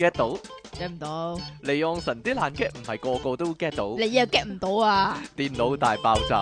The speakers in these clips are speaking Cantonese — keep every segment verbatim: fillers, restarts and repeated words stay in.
get 到？ get 唔到， 離岸神啲爛 get 唔係個個都 get 到。 你又 get 唔到啊！ 電腦大爆炸。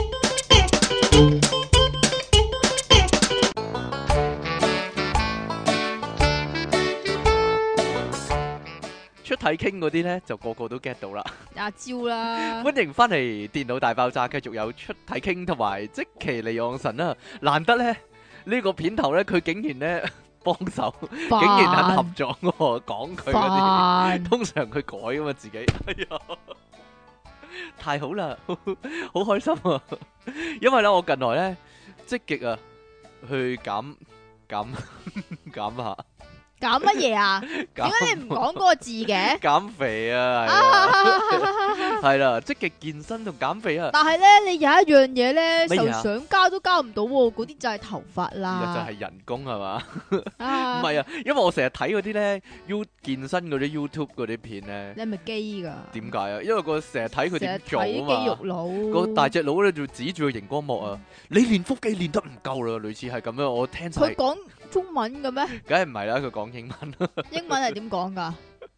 出體傾嗰啲呢，就個個都 get 到啦。 阿招啦， 歡迎翻嚟電腦大爆炸，繼續有出體傾同埋積淇離岸神啦。難得呢，呢個片頭呢，佢竟然呢幫手，竟然肯合作喎，講佢嗰啲。通常佢改噶嘛自己。哎呀，太好啦，好開心啊！因為咧，我近來咧積極啊去減減減下。 減乜嘢啊？點解你唔講嗰個字嘅？ 減肥啊，係啊，係啦，積極健身同減肥啊。 但係咧，你有一樣嘢咧，就乜嘢啊想加都加唔到喎，嗰啲就係頭髮就啦。 係人工係嘛？ 啊唔係啊，因為我成日睇嗰啲咧 U 健身嗰啲 YouTube 嗰啲片咧。 你係咪基㗎？ 點解啊？因為個成日睇佢點做成日睇啊嘛。 肌肉佬， 個大隻佬咧就指住個熒光幕啊！你練腹肌練得唔夠啦，類似係咁樣。我聽晒佢，講中文嘅咩？ 梗係唔係啦，佢講英文。 英文係點講㗎？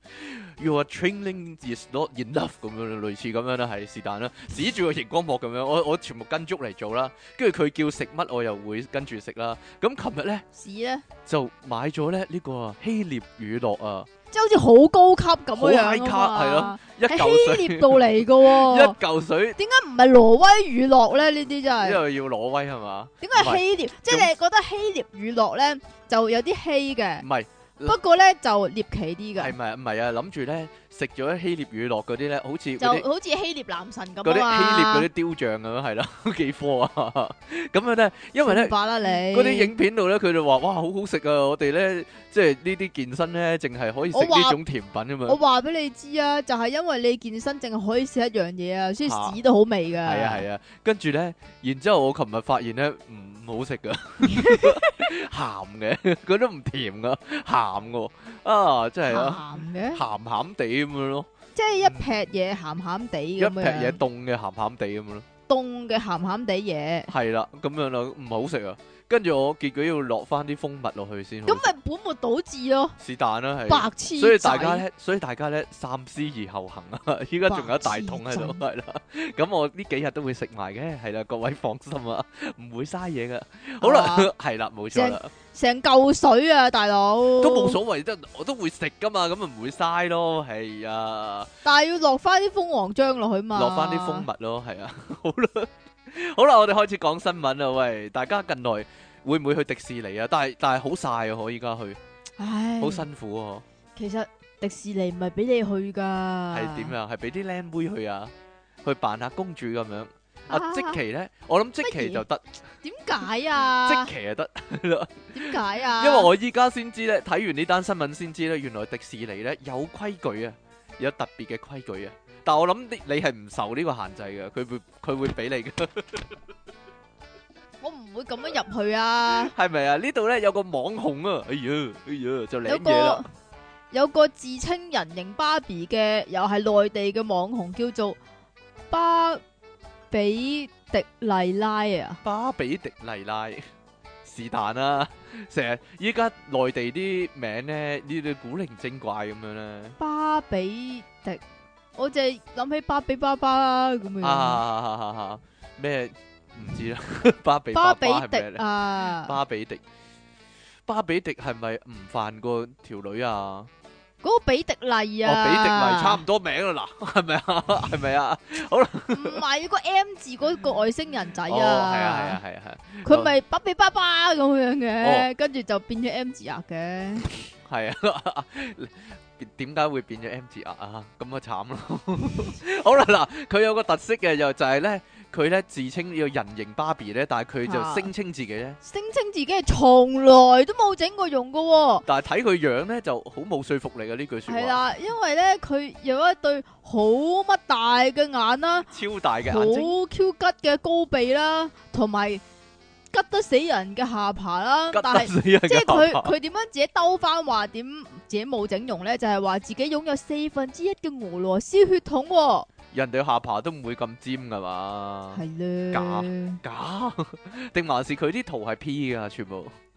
Your training is not enough 咁樣，類似咁樣啦，係是但啦，指住個熒光幕咁樣，我我全部跟足嚟做啦，跟住佢叫食乜，我又會跟住食啦。咁琴日咧屎咧， 就買咗咧呢個希臘乳酪啊， 即係好似好高級咁好樣 high 樣 carb， 啊係咯嘛， 一喺嚿水希臘度嚟嘅一喎。 嚿水， 點解唔係挪威乳酪咧？呢啲真因係為要攞威係嘛？ 點解係希臘？即係你覺得希臘乳酪咧就有啲稀嘅唔，係不過咧就獵奇啲嘅， 係咪唔係啊？諗住咧食咗希臘乳酪嗰啲咧，好似就嗰啲好似希臘男神咁嗰啲啊希臘嗰嘛。 啲雕像咁樣係啦，幾科啊？咁樣咧，因為咧。 罷啦你嗰啲影片度咧，佢哋話：哇，好好食啊！我哋咧，即係呢啲健身咧，淨係可以食我話呢種甜品啊嘛。 我話俾你知啊，就係因為你健身淨係可以食一樣嘢啊，所以嚇屎都好味噶。 係啊係啊，跟住咧，然之後我琴日發現咧，唔好食噶，鹹嘅，佢都唔甜噶，鹹嘅，啊，真係啊， 鹹嘅， 鹹鹹地咁樣咯， 即係一劈嘢鹹鹹地咁一劈嘢樣， 凍嘅鹹鹹地咁樣咯， 凍嘅鹹鹹地嘢， 係啦，咁樣啦，唔好食啊。跟住我結果要落翻啲蜂蜜落去先好食， 咁咪本末倒置咯， 是但啦，係。 白痴仔。 所以大家咧，所以大家咧三思而後行啊！依家仲有一大桶喺度， 白係啦。咁我呢幾日都會食埋嘅，係啦，各位放心啊，唔會嘥嘢噶。好啦啊， 係啦，冇錯啦， 成嚿水啊，大佬都冇所謂，即我都會食噶嘛，咁咪唔會嘥咯，係啊， 但係要落翻啲蜂王漿落去嘛， 落翻啲蜂蜜咯，係啊，好啦，好啦，我哋開始講新聞啦，喂，大家近來會唔會去迪士尼啊？但係但係好曬啊，我依家去， 唉， 好辛苦啊， 其實迪士尼唔係俾你去噶， 係點啊？係俾啲靚妹去啊，去扮下公主咁樣。啊， 啊即期咧，我諗即期就得， 點解啊？ 即期就得， 點解啊？ 因為我依家先知咧，睇完呢單新聞先知咧，原來迪士尼咧有規矩啊，有特別嘅規矩啊。但係我諗你你係唔受呢個限制嘅，佢會佢會俾你嘅， 我唔會咁樣入去啊！ 係咪啊？呢度咧有個網紅啊，哎呀哎呀就有領嘢啦個，有個自稱人形芭比嘅，又係內地嘅網紅，叫做芭比迪麗拉啊！ 芭比迪麗拉是但啦，成日依家內地啲名咧呢啲古靈精怪咁樣咧。 芭比迪，我淨係諗起芭比爸爸啦咁樣。 啊咩唔知啦，芭比芭比爸爸係咩迪咧？ 啊， 芭比迪，芭比迪係咪唔犯過條女啊？ 嗰個比迪麗哦， 啊， 比迪麗差唔多名啦，嗱，係咪啊？係咪啊？好啦， 唔係個 M 字嗰個外星人仔啊， 哦，係啊，係啊，係啊，係啊， 佢咪芭比爸爸咁樣哦嘅，跟住就變咗 M 字額嘅。 係啊，點解會變咗 M 字額啊？咁啊慘咯！好啦，嗱，佢有個特色嘅，就就係咧，佢咧自稱要人形芭比咧，但係佢就啊聲稱自己咧， 聲稱自己係從來都冇整過容噶喎。 但係睇佢樣咧就好冇說服力啊！呢句說話係啦，因為咧佢有一對好乜大嘅眼啦， 超大嘅好眼睛， Q 吉嘅高鼻啦，同埋吉得死人嘅下巴啦。 吉但係得死人嘅即係佢下巴佢點樣自己兜翻話點自己冇整容咧？就係話自己擁有四分之一嘅俄羅斯血統喎。 人哋下巴都唔會咁尖噶嘛？ 係咧， 假假定還是佢啲圖係 P 噶全部？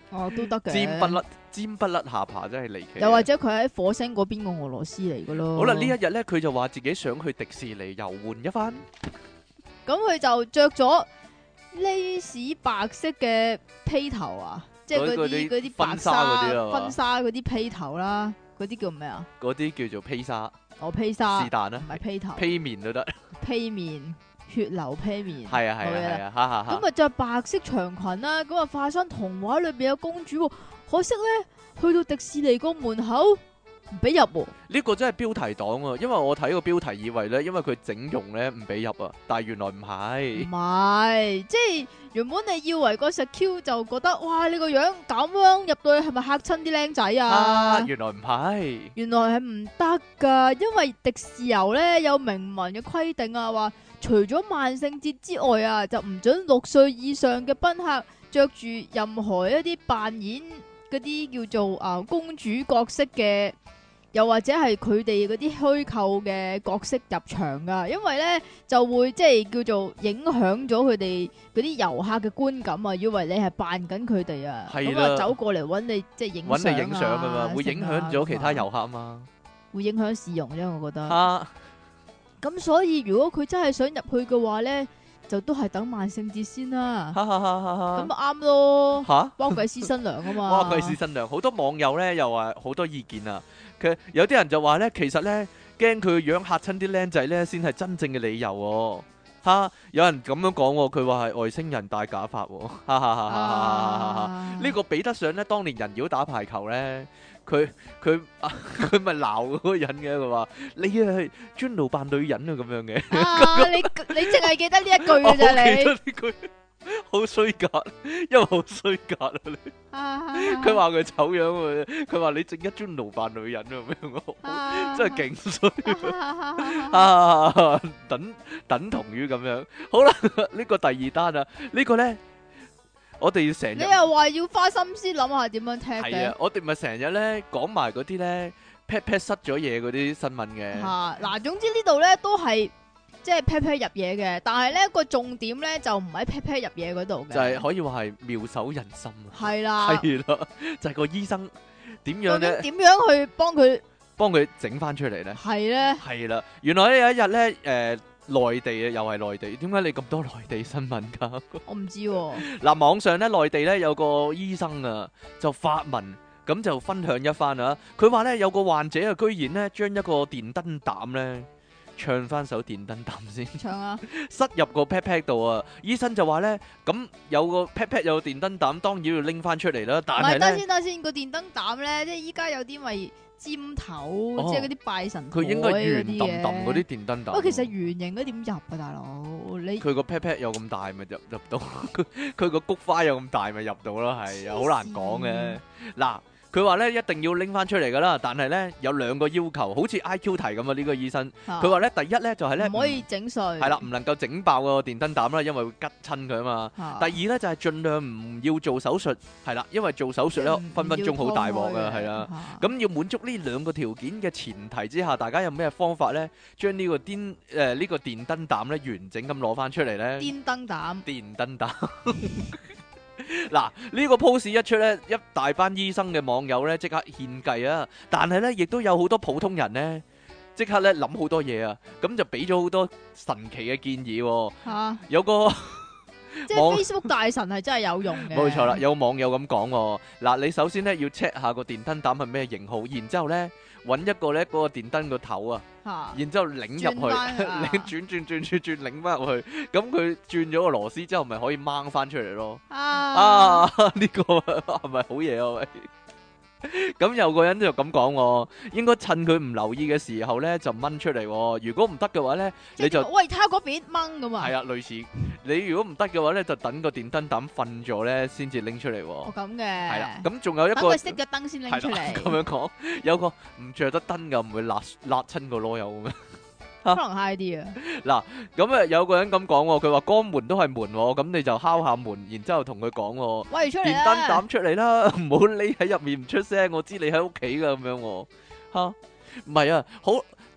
哦都得嘅。 尖不甩尖不甩下巴真係離奇。 又或者佢喺火星嗰邊個俄羅斯嚟嘅咯。 好啦，呢一日咧佢就話自己想去迪士尼遊玩一番。 咁佢就着咗呢士白色嘅披頭啊，即係嗰嗰啲啲嗰啲白婚紗嗰啲啊嘛婚紗嗰啲披頭啦，嗰啲叫咩啊？ 嗰啲叫做披薩， 哦披紗， 是但啦唔，係披頭， 披面都得。 披面，血流披面。 係啊係啊好嘢係啊，哈哈哈。 咁啊着白色長裙啦，咁啊化身童話裏邊嘅公主喎，可惜咧去到迪士尼個門口唔俾入喎。 呢個真係標題黨啊！因為我睇個標題以為咧，因為佢整容咧唔俾入啊，但係原來唔唔係。 係，即係原本你以為個石 Q 就覺得哇你個樣咁樣入到去係咪嚇親啲僆仔啊， 啊？ 原來唔係。 原來係唔得噶，因為迪士尼咧有明文嘅規定啊，話除咗萬聖節之外啊，就唔准六歲以上嘅賓客着住任何一啲扮演嗰啲叫做啊、呃公主角色嘅，又或者係佢哋嗰啲虛構嘅角色入場噶，因為咧就會即係叫做影響咗佢哋嗰啲遊客嘅觀感啊，以為你係扮緊佢哋啊， 係啦咁啊走過嚟揾你即係影揾你影相相噶嘛，會影響咗其他遊客嘛。 會影響市容啫，我覺得。 啊， 咁所以如果佢真係想入去嘅話咧，就都係等萬聖節先啦。 哈哈哈哈哈咁咪啱咯， 吓？ 幫鬼師新娘啊嘛。 哇！貴是新娘，好多網友咧又話好多意見啊。佢有啲人就話咧，其實咧驚佢個樣嚇親啲僆仔咧，先係真正嘅理由喎。嚇！有人咁樣講喎，佢話係外星人戴假髮喎。哈哈哈哈哈哈哈！ 啊呢個比得上咧，當年人妖打排球咧，佢佢啊佢咪鬧嗰個人嘅，佢話你啊係專路扮女人啊咁樣嘅。 啊！你你淨係記得呢一句我嘅咋記得你？ 呢句好衰格，因為好衰格啊你。 啊佢話佢醜樣喎，佢話你正一專路扮女人啊咁樣喎， 啊真係勁衰啊啊！等等同於咁樣。好啦，呢個第二單啊，呢個咧我哋要成日你又話要花心思諗下點樣踢係嘅啊，我哋咪成日咧講埋嗰啲咧 pat pat 塞咗嘢嗰啲新聞嘅。 嚇嗱，總之呢度咧都係即係 pat pat 入嘢嘅，但係咧個重點咧就唔喺 pat pat 入嘢嗰度嘅， 就係可以話係妙手仁心啊！ 係啦， 係啦，就係個醫生點樣究竟咧點樣去幫佢幫佢整翻出嚟咧？ 係咧？ 係啦，原來咧有一日咧，誒內地啊，又係內地，點解你咁多內地新聞㗎？ 我唔知喎。 嗱，網上咧內地咧有個醫生啊，就發文咁就分享一番啊。佢話咧有個患者啊，居然咧將一個電燈膽咧唱翻首電燈膽先， 唱啊！ 塞入個 pat pat 度啊。醫生就話咧，咁有個 pat pat 有個電燈膽，當然要拎翻出嚟啦。但唔係， 係咧， 等先等先，個電燈膽咧，即係依家有啲咪尖頭， 哦即係嗰啲拜神佢應該台圓嗰揼揼嗰啲嘅。 電燈膽。 不過其實圓形嗰點入啊，大佬你佢個 pat pat 有咁大咪入入到，佢佢個菊花有咁大咪入到咯，係啊，好難講嘅。嗱，佢話咧一定要拎翻出嚟噶啦，但係咧有兩個要求，好似 I Q 題咁啊！呢個醫生佢話咧第一咧就係咧唔可以整碎， 係啦，唔能夠整爆個電燈膽啦，因為會吉親佢啊嘛。 嚇。 第二咧就係盡量唔要做手術，係啦，因為做手術咧唔分分鐘好大鑊啊，係啦。 嚇咁要滿足呢兩個條件嘅前提之下，大家有咩方法咧，將呢個電誒呢個電燈膽咧完整咁攞翻出嚟咧？ 電燈膽電燈膽嗱，呢個 post 一出咧，一大班醫生嘅網友咧即刻獻計啊！但係咧，亦都有好多普通人咧，即刻咧諗好多嘢啊！咁就俾咗好多神奇嘅建議喎。 嚇， 有個即網係 Facebook 大神係真係有用嘅。 冇錯啦，有網友咁講喎。嗱，你首先咧要 check 下個電燈膽係咩型號，然之後咧揾一個咧嗰個電燈個頭啊。 嚇， 然之後擰入去， 轉返啊擰轉轉轉轉轉擰翻入去，咁佢轉咗個螺絲之後，咪可以掹翻出嚟咯。 啊啊，呢個係咪好嘢啊？喂！咁有個人就咁講喎，應該趁佢唔留意嘅時候咧就掹出嚟喎。如果唔得嘅話咧， 即係你就點喂睇下嗰邊掹咁啊。 係啊，類似你如果唔得嘅話咧，就等個電燈膽瞓咗咧先至拎出嚟喎。 哦咁嘅。 係啦，咁仲有一個等佢熄咗燈先拎出係啦咁嚟， 樣講，有個唔着得燈嘅唔會辣辣親個螺柚嘅咩？ 可能 high 啲啊。 咁啊，有個人咁講喎，佢話肛門都係門喎，咁你就敲下門，然之後同佢講喎， 喂，出嚟電燈啊！ 膽出嚟啦，唔好匿喺入面唔出聲，我知你喺屋企噶咁樣喎，嚇，唔係啊，好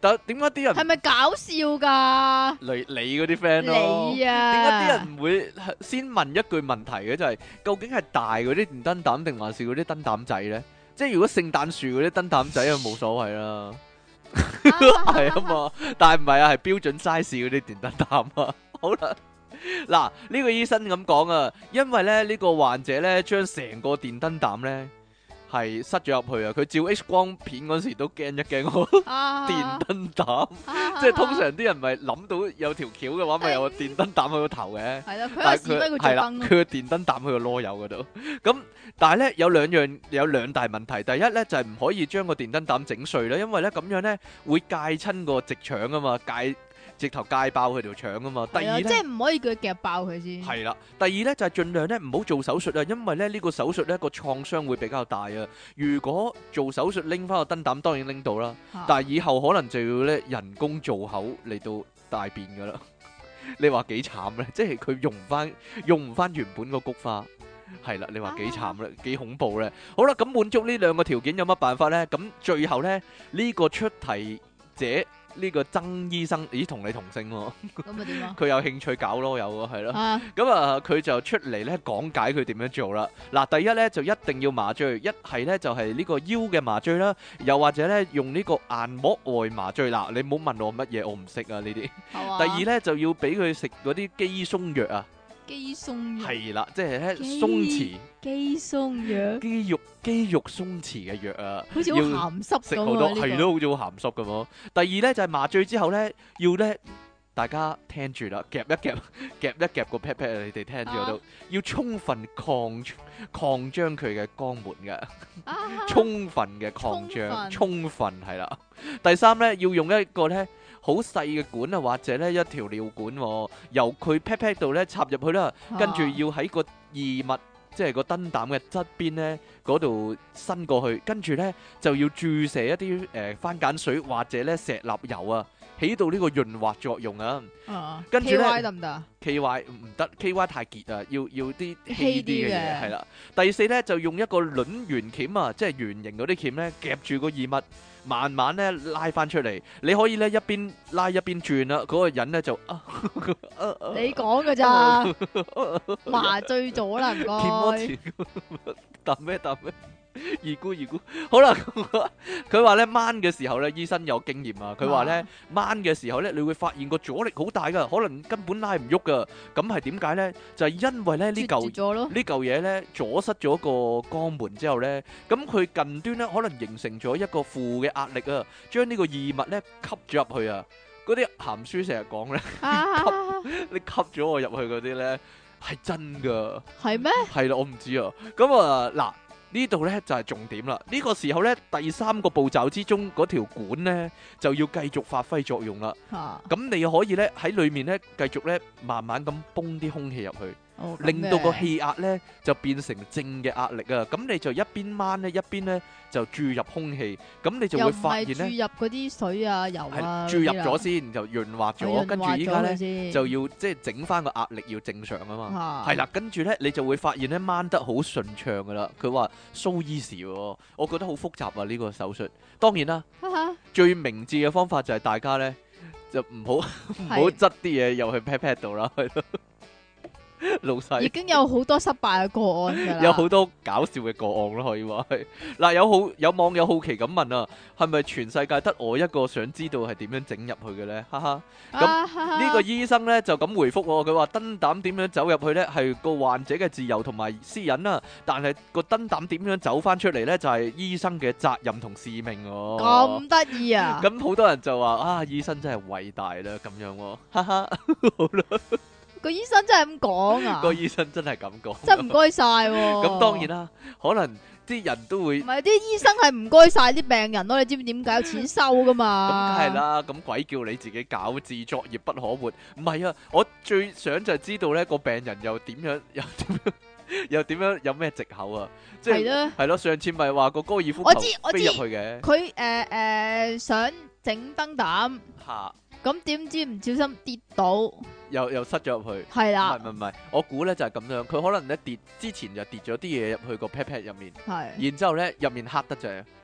但點解啲人係咪搞笑噶？ 你你嗰啲 friend 咯？ 你啊， 點解啲人唔會先問一句問題嘅？就係究竟係大嗰啲電燈膽定還是嗰啲燈膽仔咧？即係如果聖誕樹嗰啲燈膽仔就冇所謂啦，係啊嘛。但係唔係啊，係標準 size 嗰啲電燈膽啊。好啦。嗱，呢個醫生咁講啊，因為咧呢個患者咧將成個電燈膽咧係塞咗入去啊，佢照 X 光片嗰時都驚一驚個電燈膽，即係通常啲人咪諗到有條橋嘅話，咪有個電燈膽喺個頭嘅， 係啦，佢但係佢佢係啦，佢個電燈膽喺個囉柚嗰度。咁但係咧有兩樣有兩大問題，第一咧就係唔可以將個電燈膽整碎啦，因為咧咁樣咧會戒親個直腸啊嘛，戒。直頭戒爆佢條腸啊嘛！第二咧， 即係唔可以叫佢夾爆佢先。 係啦，第二咧就係盡量咧唔好做手術啊，因為咧呢個手術咧個創傷會比較大啊。如果做手術拎翻個燈膽，當然拎到啦，但係以後可能就要咧人工造口嚟到大便噶啦。你話幾慘咧？即係佢用唔翻用唔翻原本個菊花，係啦。你話幾慘咧？幾恐怖咧？好啦，咁滿足呢兩個條件有乜辦法咧？咁最後咧呢個出題者。呢個曾醫生，咦，同你同姓喎？ 咁啊點啊？ 佢有興趣搞囉柚喎，係咯。 啊， 咁啊，佢就出嚟咧講解佢點樣做啦。嗱，第一咧就一定要麻醉，一係咧就係呢個腰嘅麻醉啦，又或者咧用呢個硬膜外麻醉。嗱，你唔好問我乜嘢，我唔識啊呢啲。第二咧就要俾佢食嗰啲肌鬆藥啊。 肌鬆藥係啦，即係咧鬆弛。 肌鬆藥。 肌肉肌肉鬆弛嘅藥啊， 好似好鹹濕食好多，係咯，好似好鹹濕咁咯。第二咧就係麻醉之後咧，要咧大家聽住啦，夾一夾，夾一夾個 pat pat 啊，你哋聽住嗰度，要充分擴擴張佢嘅肛門嘅，充分嘅擴張，充分係啦。第三咧要用一個咧。好細嘅管啊，或者咧一條尿管，由佢 pat pat 度咧插入去啦，跟住要喺個異物，即係個燈膽嘅側邊咧嗰度伸過去，跟住咧就要注射一啲誒番梘水或者咧石蠟油啊，起到呢個潤滑作用啊。跟住咧 K Y 得唔得？K Y 唔得，K Y 太結啊，要要啲稀啲嘅嘢係啦。第四咧就用一個卵圓鉗啊，即係圓形嗰啲鉗咧夾住個異物。慢慢咧拉翻出嚟，你可以咧一邊拉一邊轉啦，嗰、嗰個人咧就啊， 你講㗎咋？麻醉咗啦，唔該。 答咩答咩？二姑二姑，好啦，佢話咧掹嘅時候咧，醫生有經驗啊。佢話咧掹嘅時候咧，你會發現個阻力好大噶，可能根本拉唔喐噶。咁係點解咧？就係、是、因為咧呢嚿呢嚿嘢咧阻塞咗個肛門之後咧，咁佢近端咧可能形成咗一個負嘅壓力啊，將呢個異物咧吸咗入去啊。嗰啲鹹書成日講咧，吸你吸咗我入去嗰啲咧係真噶，係咩？係啦，我唔知啊。咁啊嗱。呢度呢就係重點啦！呢個時候呢，第三個步驟之中嗰條管呢就要繼續發揮作用啦。咁你可以呢喺裏面呢繼續呢慢慢咁泵啲空氣入去。令到個氣壓咧就變成正嘅壓力啊！咁你就一邊掹咧，一邊咧就注入空氣，咁你就會發現咧， 注入嗰啲水啊、油啊， 注入咗先就潤滑咗，跟住依家咧就要即係整翻個壓力要正常啊嘛，係啦，跟住咧你就會發現咧掹得好順暢噶啦。佢話 so easy 喎，我覺得好複雜啊呢個手術。當然啦，最明智嘅方法就係大家咧就唔好唔好執啲嘢入去 pat pat 度啦，係咯。老細已經有好多失敗嘅個案㗎啦， 有好多搞笑嘅個案咯，可以話係嗱。有好有網友好奇咁問啊，係咪全世界得我一個想知道係點樣整入去嘅咧？哈哈，咁呢個醫生咧就咁回覆我，佢話燈膽點樣走入去咧係個患者嘅自由同埋私隱啊，但係個燈膽點樣走翻出嚟咧就係醫生嘅責任同使命喎。 咁得意啊！ 咁好多人就話啊，醫生真係偉大啦，咁樣喎，哈哈，好啦。 個醫生真係咁講啊！ 個醫生真係咁講， 真唔該晒喎。 咁當然啦，可能啲人都會唔係啲醫生係唔該晒啲病人咯。你知唔知點解有錢收噶嘛？ 咁梗係啦，咁鬼叫你自己搞，自作孽不可活。唔係啊，我最想就係知道咧個病人又點樣，又點樣，又點樣，有咩藉口啊？即係係咯，上次咪話個高爾夫球飛入去嘅。 佢誒誒想整燈膽。嚇！咁點知唔小心跌倒？ 又又塞咗入去， 係啦， 唔係唔係，我估咧就係咁樣，佢可能咧跌之前就跌咗啲嘢入去個 pat pat 入面，係，然之後咧入面黑得滯，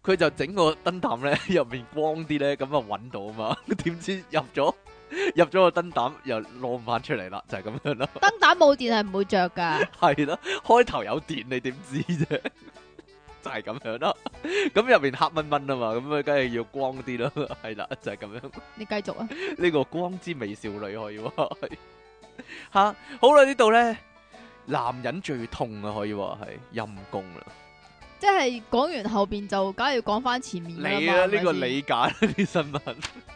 佢就整個燈膽咧入面光啲咧，咁啊揾到啊嘛。點知入咗入咗個燈膽又攞唔翻出嚟啦，就係、是、咁樣咯。 燈膽冇電係唔會着噶。 係咯，開頭有電你點知啫？就係咁樣啦。咁入面黑蚊蚊啊嘛，咁啊梗係要光啲咯。係啦，就係、是、咁樣。 你繼續啊。 呢個光之美少女可以話係吓。好啦，呢度咧男人最痛啊，可以話係陰公啦。 即係講完後邊就梗係要講翻前面㗎啦嘛。 你啊，呢個係咪先理解啲新聞。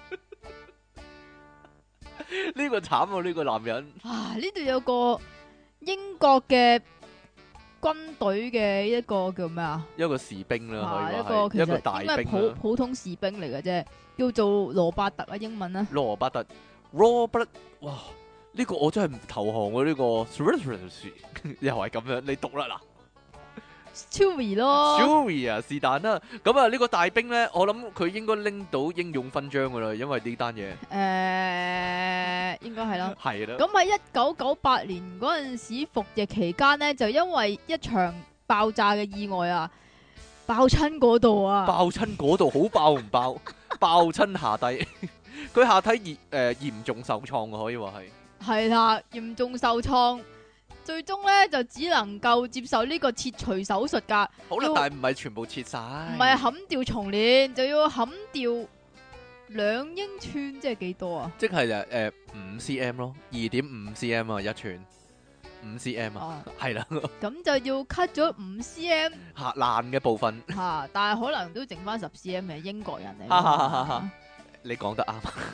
呢個慘啊！呢個男人啊！呢度有個英國嘅軍隊嘅一個叫咩啊？ 一個士兵啦， 啊， 可以話一個其實係一個大應該係普兵啦。 普通士兵嚟嘅啫，叫做羅伯特啊，英文啊。 羅伯特 Robert， 哇！呢個我真係唔投降喎，呢個又係咁樣，你讀啦嗱。 Chewie 咯 Chewie 啊，是但啦。咁啊，呢個大兵咧，我諗佢應該拎到英勇勳章噶啦，因為呢單嘢誒，應該係啦。 係啦。 咁喺一九九八年嗰陣時服役期間呢，就因為一場爆炸嘅意外啊，爆親嗰度啊， 爆親嗰度好爆唔爆？爆親下低，佢下體嚴誒嚴重受創啊，可以話係。 係啦，嚴重受創，最終咧就只能夠接受呢個切除手術㗎。 好啦， 要但係唔係全部切晒， 唔係冚掉重練，就要冚掉兩英寸，即係幾多啊？ 即係誒誒五 cm 咯，二點五 cm 啊一寸，五 cm 啊， 啊， 係啦， 咁就要 cut 咗五 cm 嚇爛嘅部分， 吓，但係可能都剩翻十 cm 嘅英國人嚟哈哈哈哈嘛。 你講得啱。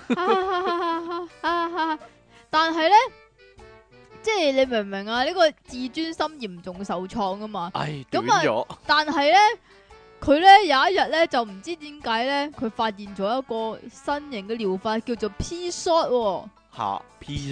但係咧，即係你明唔明啊？呢、個自尊心嚴重受創啊嘛。 唉，短咁啊咗， 但係咧，佢咧有一日咧就唔知點解咧，佢發現咗一個新型嘅療法，叫做 P shot 喎。 嚇 P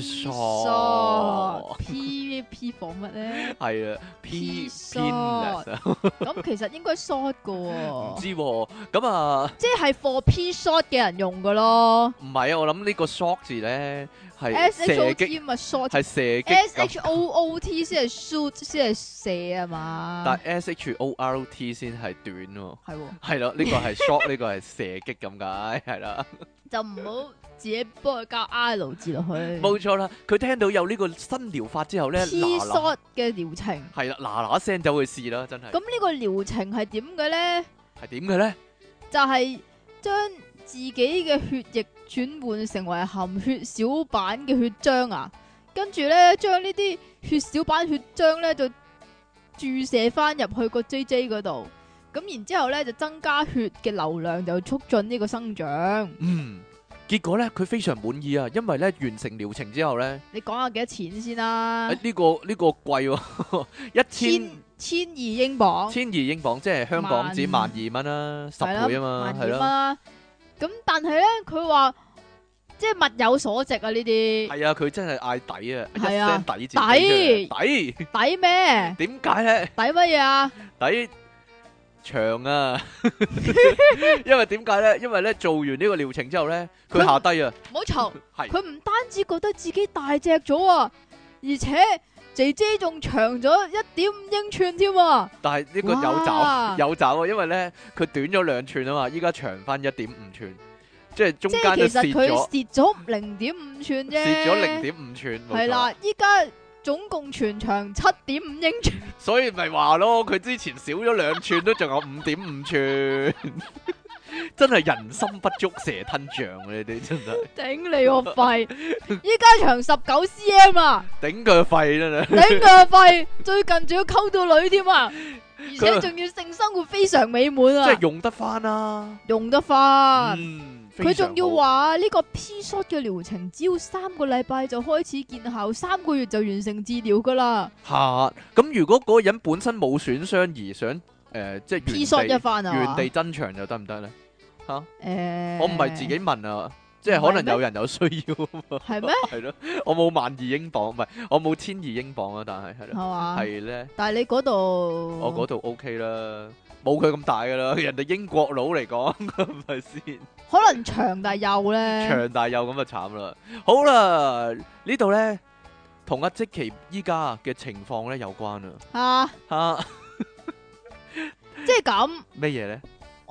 shot shot P P 放乜咧？ 係啊 P P penis 啊， 咁其實應該 short 噶唔喎， 知喎，咁啊即係 for P shot 嘅人用噶咯。 唔係啊，我諗呢個 shot 字咧係 S H 射 O 擊， T 咪 short。 係射擊 S 咁 H O O T 先係 shoot 先係射啊嘛。 但 S H O R T 先係短喎。 係喎， 係咯，呢個係 shot，呢個係射擊咁解，係啦， 就唔好自己幫佢加 I 字落去。 冇錯啦。佢聽到有呢個新療法之後咧， P 嗱嗱 shot 嘅療程。 係啦，嗱嗱聲就去試啦，真係。 咁呢個療程係點嘅咧？ 係點嘅咧？ 就係將自己嘅血液轉換成為含血小板嘅血漿啊，跟住咧將呢啲血小板血漿咧就注射翻入去個 J J 嗰度，咁然之後咧就增加血嘅流量，就促進呢個生長。 嗯，結果咧佢非常滿意啊，因為咧完成療程之後咧， 你講下幾多錢先啦？ 誒呢個呢個貴喎，一千千千二英鎊， 千二英鎊，即係香港紙萬二蚊啦，十係啦倍啊嘛， 萬二蚊係咯， 啦。咁但係咧，佢話即係物有所值啊！呢啲係啊，佢真係嗌抵啊，一係啊聲抵字抵抵， 抵咩？ 點解咧？ 抵乜嘢啊？ 抵長啊，因為點解咧？因為咧做完呢個療程之後咧，佢佢下低啊， 唔好嘈， 係佢唔單止覺得自己大隻咗啊，而且姐姐仲長咗一點五英寸添啊！ 但係呢個有哇爪有爪啊，因為咧佢短咗兩寸啊嘛，依家長翻一點五寸，即係中即間都係其實佢蝕咗蝕咗零點五寸啫， 蝕咗零點五寸，冇錯係啦，依家總共全長七點五英寸， 所以咪話咯，佢之前少咗兩寸都仲有五點五寸，真係人心不足蛇吞象啊！你哋真係頂你個肺！依家長十九 cm 啊！ 頂佢個肺真係。 頂佢個肺，最近仲要溝到女添啊！而且仲要性生活非常美滿啊！ 即係用得翻啦， 用得翻。 嗯， 佢仲要話話呢個 P shot 嘅療程只要三個禮拜就開始見效，三個月就完成治療噶啦。 吓，咁如果嗰個人本身冇損傷而想誒，即係 P shot 一原地番啊！ 原地增長又得唔得咧？吓， 誒， 我唔係自己問啊，即係可能有人有需要啊嘛。 係咩？ 係咯，我冇萬二英鎊，唔係我冇千二英鎊啊，但係係係咯， 嘛？ 係咧， 但係你嗰度， 我嗰度 OK 啦，冇佢咁大噶啦，人哋英國佬嚟講，係咪先？ 可能長但係幼咧。 長大幼咁就慘啦。好啦，呢度咧同阿積淇依家嘅情況咧有關啊。 啊， 吓即係咁。 咩嘢咧？ 我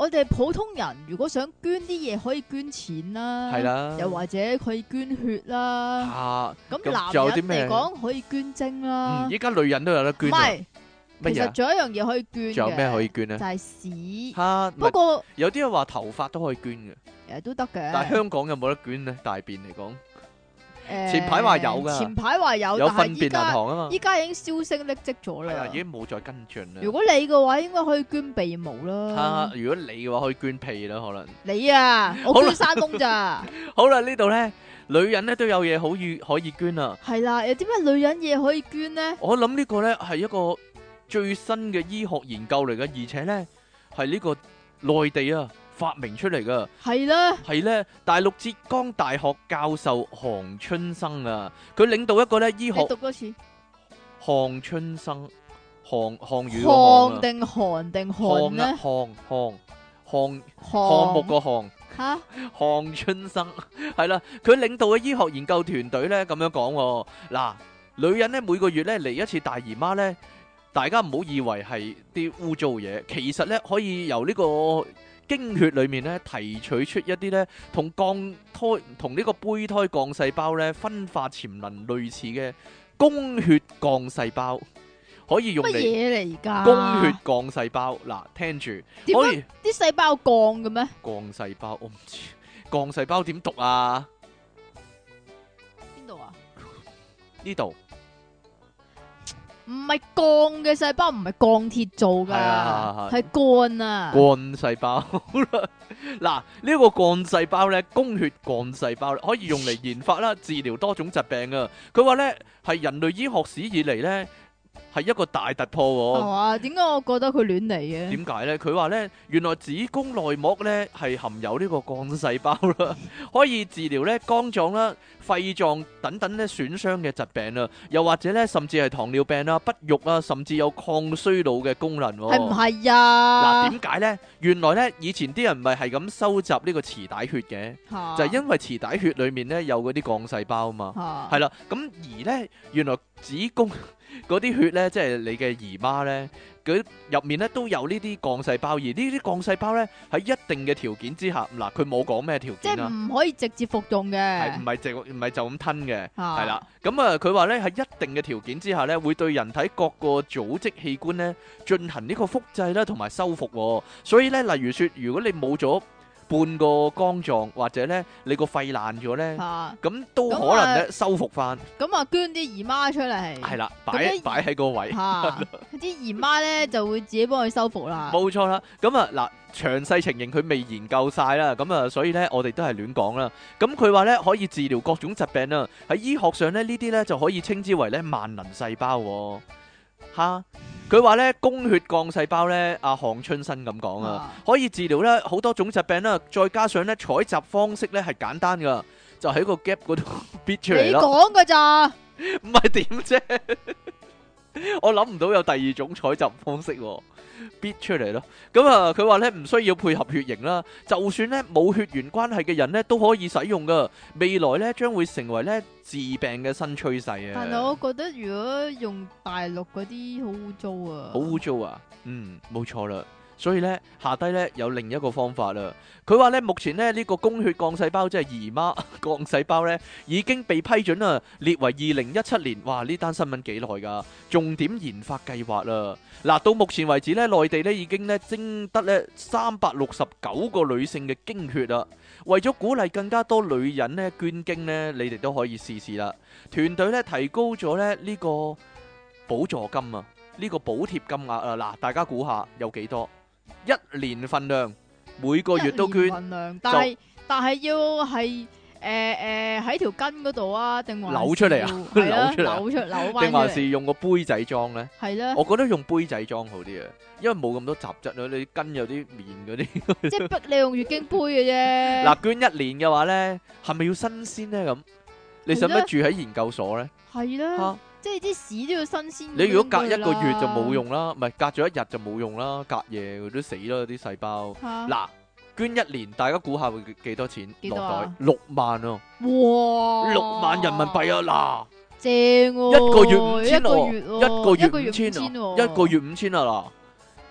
我哋普通人如果想捐啲嘢，可以捐錢啦， 係啦， 又或者可以捐血啦。 啊， 咁咁男人仲有啲咩嚟講可以捐精啦嗯，。依家女人都有得唔捐啊， 係， 乜嘢啊？ 其實仲有一樣嘢可以捐嘅， 仲有咩可以捐咧就？係屎。 嚇，唔係不過有啲人話頭髮都可以捐嘅， 誒都得嘅。 但係香港有冇得捐咧？大便嚟講， 誒前排話有㗎前排話有， 有但係糞便銀依家行啊嘛， 依家已經銷聲匿跡咗係啊， 啦已。經冇再跟進啦。 如果你嘅話，應該可以捐鼻毛啦嚇，。如果你嘅話可以捐屁啦，可能。 你啊，我好啦捐山窿咋？ 好啦，呢度咧，女人咧都有嘢好以可以捐啊。 係啦，有啲咩女人嘢可以捐呢？ 我諗呢個咧係一個最新嘅醫學研究嚟嘅，而且咧係呢個內地啊發明出嚟噶。 係啦， 係咧，大陸浙江大學教授韓春生啊，佢領導一個咧醫你學讀多次。 韓春生，韓韓語個韓啊， 項定韓定韓韓啊呢？ 韓韓韓項項目個項。 吓韓春生係啦，佢領導嘅醫學研究團隊咧咁樣講喎。嗱，女人咧每個月咧嚟一次大姨媽咧，大家唔好以為係啲污糟嘢，其實咧可以由呢個經血裏面咧提取出一啲咧同降胎同呢個胚胎降細胞咧分化潛能類似嘅供血降細胞，可以用乜嚟嘢嚟㗎？ 供血降細胞。嗱，聽住點解可以啲細胞降嘅咩？ 降細胞，我唔知降細胞點讀啊？ 邊度啊？ 呢度唔係鋼嘅細胞，唔係鋼鐵做噶， 係啊係係鋼啊。 幹細胞好啦，嗱呢個幹細胞咧，供血幹細胞可以用嚟研發啦，治療多種疾病啊。佢話咧係人類醫學史以嚟咧係一個大突破喎。 係嘛？點解我覺得佢亂嚟嘅？ 點解咧？佢話咧，原來子宮內膜咧係含有呢個幹細胞啦，可以治療咧肝臟啦、肺臟等等咧損傷嘅疾病啊，又或者咧甚至係糖尿病啊、不育啊，甚至有抗衰老嘅功能喎。 係唔係啊？ 嗱，點解呢？原來呢，以前啲人唔係係咁收集呢個臍帶血嘅， 嚇就係因為臍帶血裡面呢有嗰啲幹細胞啊嘛。 嚇係啦，咁而呢，原來子宮嗰啲血呢，即係你嘅姨媽呢，佢入面呢都有呢啲幹細胞，而呢啲幹細胞呢，喺一定嘅條件之下，嗱佢冇講咩條即係件啦， 唔可以直接服用係嘅唔。係就唔係就咁吞嘅？ 嚇係啦，咁啊，佢話咧喺一定嘅條件之下咧，會對人體各個組織器官咧進行呢個複製啦，同埋修復喎。所以咧，例如說，如果你冇咗半個肝臟，或者咧你個肺爛咗咧， 嚇咁都可咁啊能咧修復翻。 咁啊，捐啲姨媽出嚟。 係啦， 咁擺咧擺喺個位， 嚇啲姨媽咧就會自己幫佢修復啦。 冇錯啦。咁啊嗱，詳細情形佢未研究晒啦，咁啊，所以咧我哋都係亂講啦。咁佢話咧可以治療各種疾病啊，喺醫學上咧呢啲咧就可以稱之為咧萬能細胞喎。吓，佢話咧供血降細胞咧，阿韓春生咁講啊， 啊可以治療咧好多種疾病啦，再加上咧採集方式咧係簡單噶，就喺個 gap 嗰度逼出嚟你咯， 講㗎咋？ 唔係點啫？我諗唔到有第二種採集方式喎，逼出嚟咯。咁啊，佢話咧唔需要配合血型啦，就算咧冇血緣關係嘅人咧都可以使用噶。未來咧將會成為咧治病嘅新趨勢啊！ 但係我覺得如果用大陸嗰啲好污糟啊， 好污糟啊！嗯，冇錯啦。所以咧下低咧有另一個方法啦。佢話咧目前咧呢個供血降細胞即係姨媽降細胞咧已經被批准啦，列為二零一七年。哇！呢單新聞幾耐㗎？重點研發計劃啦。嗱，到目前為止咧，內地咧已經咧徵得咧三百六十九個女性嘅經血啦。為咗鼓勵更加多女人咧捐經咧，你哋都可以試試啦。團隊咧提高咗咧呢個補助金啊，呢個補貼金額啊。嗱，大家估下有幾多？一年份量，每個月都一年捐， 份量，但係但係要係誒誒喺條筋嗰度啊，定還扭出嚟啊是係啊扭出嚟啊扭出扭翻定還出嚟， 是用個杯仔裝呢？ 係啦， 我覺得用杯仔裝好啲啊，因為冇咁多雜質啊。你筋有啲麵嗰啲。 即係逼你用月經杯嘅啫。 嗱，捐一年嘅話呢，係咪要新鮮呢？咁你使唔使住喺研究所呢？ 係啦嚇， 即係啲屎都要新鮮。 你如果隔一個月就冇，用啦，唔係隔咗一日就冇用啦，隔夜佢都死啦啲細胞。 嗱， 嗱，捐一年，大家估下會幾幾多錢落幾多啊袋？六萬啊！ 哇， 六萬人民幣啊！嗱， 正喎， 一個月五千一個喎， 月喎一個月一個月五千啊， 五千喎一個月五千啊嗱，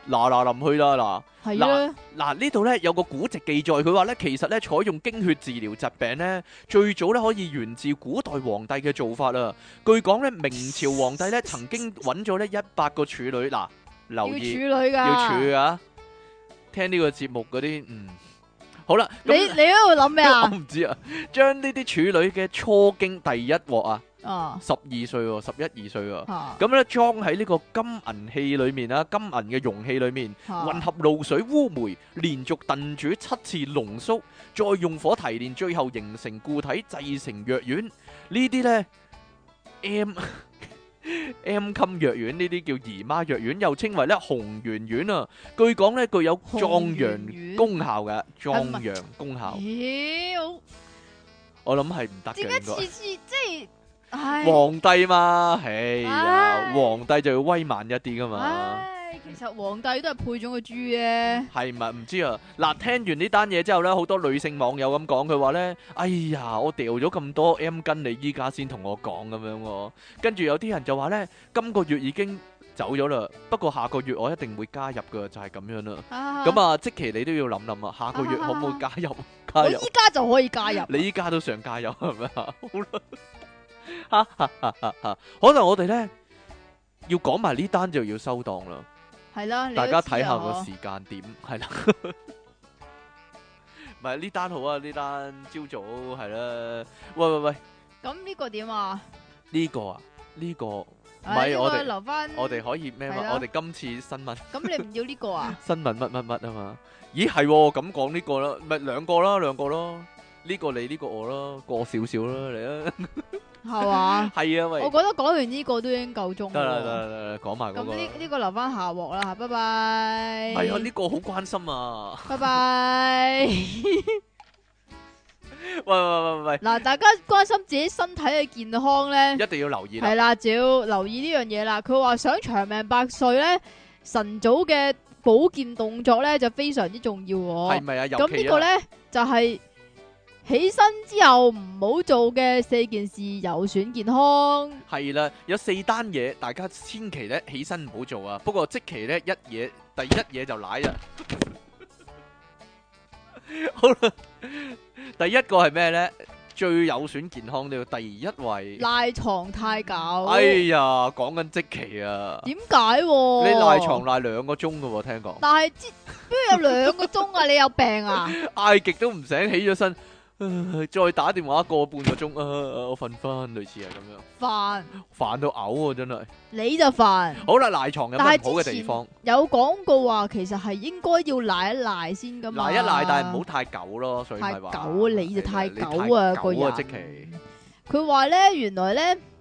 嗱嗱臨去啦嗱。 係啊， 嗱呢度咧有個古籍記載，佢話咧其實咧採用經血治療疾病咧，最早咧可以源自古代皇帝嘅做法啊。據講咧明朝皇帝咧曾經揾咗咧一百個處女，嗱留要處意女㗎， 要處啊，聽呢個節目嗰啲嗯。好啦， 你你喺度諗咩我啊？ 唔知啊，將呢啲處女嘅初經第一鑊啊， 啊十二歲喎，十一二歲喎， 嚇咁咧裝喺呢個金銀器裏面啊，金銀嘅容器裏面， 嚇混合露水、烏梅，連續燉煮七次濃縮，再用火提煉，最後形成固體，製成藥丸。呢啲呢 M M 襟藥丸，呢啲叫姨媽藥丸，又稱為咧紅圓丸啊。據講咧具有壯陽功效嘅，壯陽功效。 咦，好我諗係唔得嘅， 點解應該次次即係唉皇帝嘛，唉呀， 唉皇帝就要威猛一啲噶嘛。 唉，其實皇帝都係配種個豬嘅。 係咪唔知啊？嗱，聽完呢單嘢之後咧，好多女性網友咁講，佢話咧：哎呀，我掉咗咁多 M 巾，你依家先同我講咁樣喎。跟住有啲人就話咧，今個月已經走咗啦，不過下個月我一定會加入噶，就係咁樣啦。咁啊， 啊，即期你都要諗諗啊，下個月可唔可以加入？加入？ 我依家就可以加入。 你依家都想加入係咪啊？好啦，哈哈哈哈哈！可能我哋咧要講埋呢單就要收檔啦。 係啦，你都大家知啊睇下個嗬時間點，係啦。唔係呢單好啊，呢單朝早係啦。喂喂喂， 咁呢個點啊？ 呢個啊，呢個唔唉呢個係我哋留翻。 我哋可以咩嘛？ 係啦我哋今次新聞咁你唔要呢個啊？ 新聞乜乜乜啊嘛？咦係喎，咁講呢個啦，咪兩個啦，兩個咯。呢個你呢個我咯，過少少啦，嚟啊。 係嘛？ 係啊，喂我，覺得講完呢個都已經夠鐘得啦得啦。 啦得啦，講埋嗰個啦。 咁呢呢個留翻下鑊啦，拜拜。 係啊，呢個好關心啊。 拜拜。 喂喂喂喂， 嗱，大家關心自己身體嘅健康咧， 一定要留意啦。 係啦，就要留意呢樣嘢啦。佢話想長命百歲咧，晨早嘅保健動作咧就非常之重要喎。 係咪啊？尤咁其啊呢個咧就係起身之後唔好做嘅四件事，有損健康。 係啦，有四單嘢，大家千祈咧起身唔好做啊！不過即期咧一嘢，第一嘢就舐啊！好啦，第一個係咩咧？最有損健康呢個第一位。 賴床太久。 哎呀，講緊即期啊！ 點解？ 你你賴床賴兩個鐘噶喎，聽講。 但係之邊有兩個鐘啊？你有病啊？ 嗌極都唔醒，起咗身，呃再打電話過半個鐘，啊，我瞓翻，類似係咁樣。 煩， 煩到嘔啊！真係。 你就煩。 好啦，賴床有但乜唔好嘅係之前地方？ 有講過話，其實係應該要賴一賴先噶嘛。 賴一賴，但係唔好太久咯，所以咪話。 太久啊你就太你久啊太個人即期。 佢話咧，原來咧呢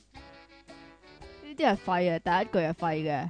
啲係廢嘅，第一句係廢嘅。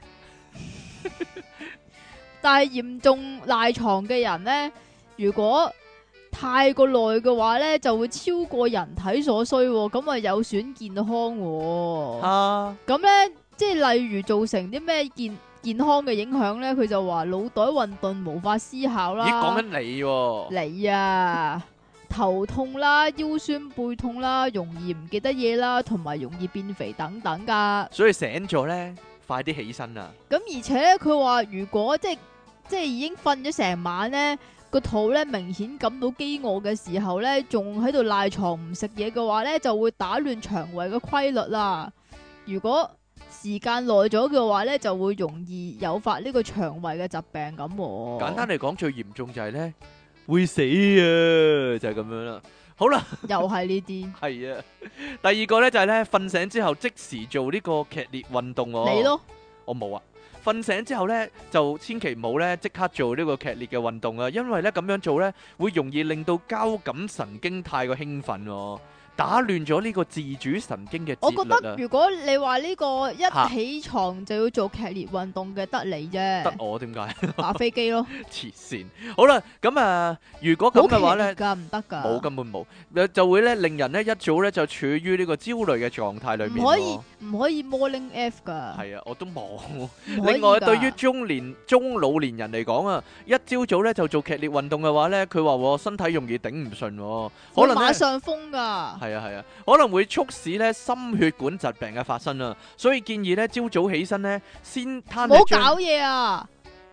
但係嚴重賴床嘅人咧，如果太過耐嘅話咧，就會超過人體所需喎，咁啊有損健康喎。 啊， 咁咧，即係例如造成啲咩健健康嘅影響咧，佢就話腦袋混沌，無法思考啦。 咦，講緊你喎。 你啊，頭痛啦、腰酸背痛啦、容易唔記得嘢啦，同埋容易變肥等等噶。 所以醒咗咧，快啲起身啊！ 咁而且咧，佢話如果即係即係已經瞓咗成晚咧，個肚咧明顯感到飢餓嘅時候咧，仲喺度賴床唔食嘢嘅話咧，就會打亂腸胃嘅規律啦。如果時間耐咗嘅話咧，就會容易誘發呢個腸胃嘅疾病咁喎。 簡單嚟講，最嚴重就係咧會死啊，就係咁樣啦。好啦， 又係呢啲， 係啊。第二個咧就係咧瞓醒之後即時做呢個劇烈運動喎。 你咯， 我冇啊。瞓醒之後咧，就千祈唔好咧即刻做呢個劇烈嘅運動啊，因為咧咁樣做咧會容易令到交感神經太過興奮喎，打亂咗呢個自主神經嘅我節律啊。 覺得如果你話呢個嚇一起床就要做劇烈運動嘅，得你得啫， 我點解？ 打飛機咯， 黐線。好啦，咁啊，如果咁好嘅話咧劇烈。噶，唔得噶， 冇，根本冇，誒就會咧令人咧一早咧就處於呢個焦慮嘅狀態裏面唔可以喎。 唔可以 morning F 噶， 係啊，我都冇。 唔可以另外， 㗎對於中年中老年人嚟講啊，一朝早咧就做劇烈運動嘅話咧，佢話喎身體容易頂唔順喎，可會能咧馬上風噶， 係啊係啊，可能會促使咧心血管疾病嘅發生啊，所以建議咧朝早起身咧先攤唔好喺張搞嘢啊！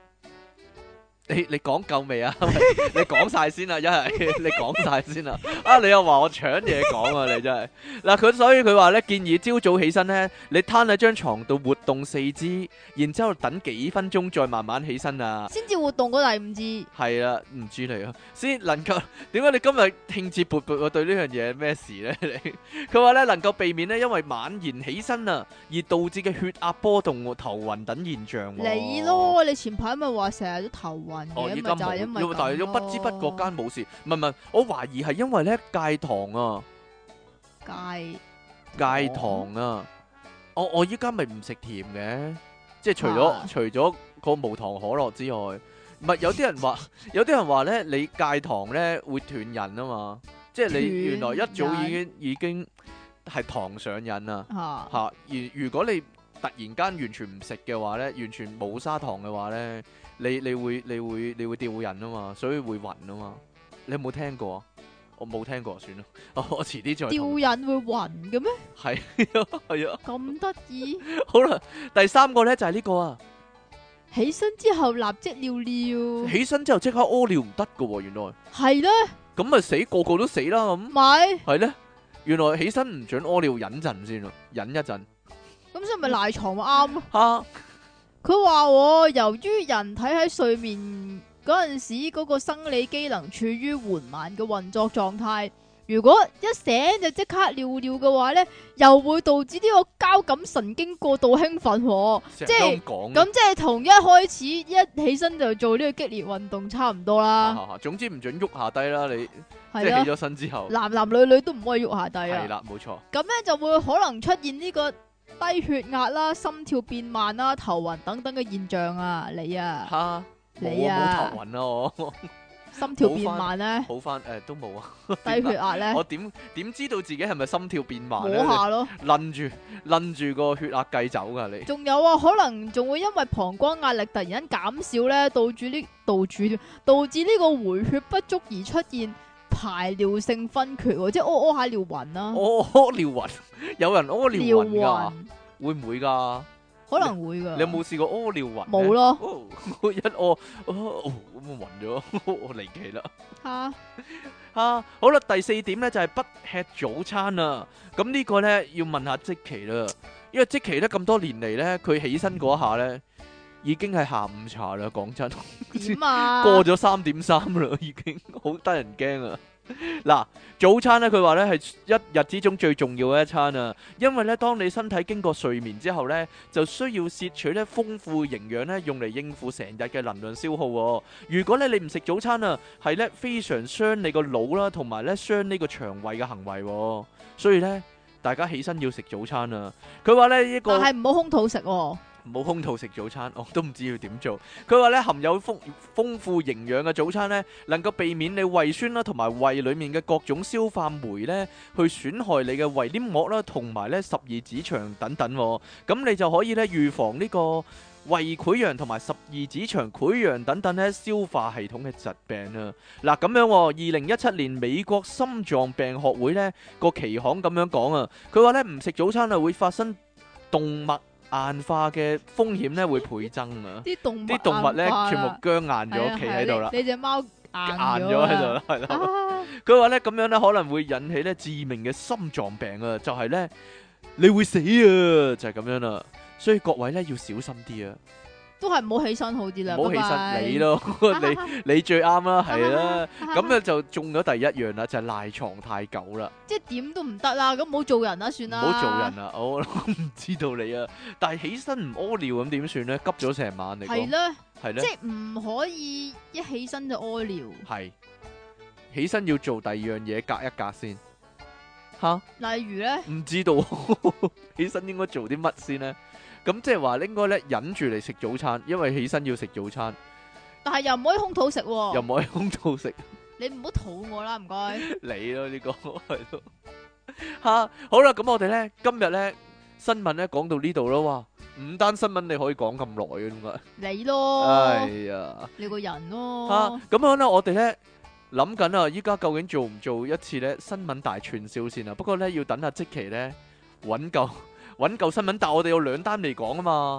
你你講夠未啊？你講晒先啦，一係你講晒先啦。啊，你又話我搶嘢講啊，你真係嗱佢，所以佢話咧建議朝早起身咧，你攤喺張床度活動四肢，然之後等幾分鐘再慢慢起身啊。 先至活動嗰第五肢。 係啦，唔知你啊，先能夠點解你今日興致勃勃？我對呢樣嘢咩事咧？你佢話咧能夠避免咧因為晚然起身啊而導致嘅血壓波動、頭暈等現象。 你咯，你前排咪話成日都頭暈哦， 嘅， 依家咪就係因為冇，但係都不知不覺間冇事。唔係唔係，我懷疑係因為咧戒糖啊， 戒戒糖啊。我我依家咪唔食甜嘅，即係除咗啊除咗個無糖可樂之外，唔係有啲人話有啲人話咧，你戒糖咧會斷癮啊嘛，即係你原來一早已經已經係糖上癮啊嚇嚇。而如果你突然間完全唔食嘅話咧，完全冇砂糖嘅話咧，你你會你會你會掉癮啊嘛，所以會暈啊嘛。你有冇聽過啊？我冇聽過，算啦。我遲啲再吊同。 癮會暈嘅咩？ 係啊係啊。 咁得意？ 好啦，第三個咧就係呢個啊。 起身之後立即尿尿， 起身之後即刻屙尿唔得噶喎，原來。 係咧， 咁咪死，個個都死啦咁。 咪係咧，原來起身唔准屙尿，忍陣先咯，忍一陣。 咁所以咪賴床咪啱咯。 嚇！ 佢話喎，由於人體喺睡眠嗰陣時嗰個生理機能處於緩慢嘅運作狀態，如果一醒就即刻尿尿嘅話呢，又會導致呢個交感神經過度興奮喎，即即係係咁講。 咁即係同一開始一起身就做呢個激烈運動差唔多啦， 啊總之唔准喐下低啦，你即係啦， 係起咗身之後。 男男女女都唔可以喐下低啊， 係啦，冇錯。 咁呢就會可能出現呢個低血壓啦、心跳變慢啦、頭暈等等嘅現象啊，你啊， 嚇！ 你冇啊，冇啊頭暈啊我。 心跳變慢呢， 好翻誒都冇啊。 低血壓呢， 我點點知道自己係咪心跳變慢摸咧？ 下咯。 擸住擸住個血壓計走㗎你。 仲有啊，可能仲會因為膀胱壓力突然間減少咧，導致呢導致導致呢個回血不足而出現排尿性昏厥喎，即係屙屙下尿暈啦， 屙屙尿暈，有人屙尿尿暈㗎， 暈會唔會㗎？ 可能會噶。 你有冇試過屙尿暈？ 冇咯。 哦，我一屙，哦咁啊暈咗，我離奇啦。 吓啊，好啦，第四點咧就係不吃早餐啊。咁呢個咧要問下積淇啦，因為積淇咧咁多年嚟咧，佢起身嗰下咧已經係下午茶啦。講真， 點啊？ 過咗三點三啦，已經好得人驚啊！嗱，早餐咧，佢話咧係一日之中最重要嘅一餐啊，因為咧，當你身體經過睡眠之後咧，就需要攝取咧豐富營養咧，用嚟應付成日嘅能量消耗喎。如果咧你唔食早餐啊，係咧非常傷你個腦啦，同埋咧傷呢個腸胃嘅行為喎。所以咧，大家起身要食早餐啊。佢話咧一個。 但係唔好空肚食喎。 冇空肚食早餐，我都唔知要點做。佢話咧含有豐豐富營養嘅早餐咧，能夠避免你胃酸啦，同埋胃裡面嘅各種消化酶咧，去損害你嘅胃黏膜啦，同埋咧十二指腸等等。咁你就可以咧預防呢個胃潰瘍同埋十二指腸潰瘍等等咧消化系統嘅疾病啊！嗱咁樣，二零一七年美國心臟病學會咧個期刊咁樣講啊，佢話咧唔食早餐啊會發生動脈硬化嘅風險咧會倍增啊！ 啲動物啲動物咧硬化啦全部僵硬咗，企喺度啦， 係啊係啊你你隻貓硬硬咗咗喺度啦，係啦。 啊佢話咧咁樣咧可能會引起咧致命嘅心臟病啊，就係咧你會死啊，就係咁樣啦。所以各位咧要小心啲啊， 都係唔好起身好啲啦。 唔好起拜拜身你咯，你你最啱啦，係啦。咁啊咧就中咗第一樣啦，就係賴床太久啦。 即係點都唔得啦，咁唔好做人啦，算唔啦。 好做人啊！我唔知道你啊，但係起身唔屙尿咁點算咧？急咗成晚嚟講， 係咧， 係咧， 即係唔可以一起身就屙尿。 係起身要做第二樣嘢，隔一隔先。吓， 例如咧， 唔知道起身應該做啲乜先咧？咁即係話應該咧忍住嚟食早餐，因為起身要食早餐， 但係又唔可以空肚食喎。 又唔可以空肚食。 你唔好肚餓啦，唔該。 你咯呢個係咯。吓，好啦，咁我哋咧今日咧新聞咧講到呢度咯。哇，五單新聞你可以講咁耐嘅點解？ 你咯， 哎呀， 你個人吓咯。 咁樣咧，我哋咧諗緊啊，依家究竟做唔做一次咧新聞大串燒先啊？不過咧要等阿積淇咧揾夠揾夠新聞，但係我哋有兩單未講啊嘛。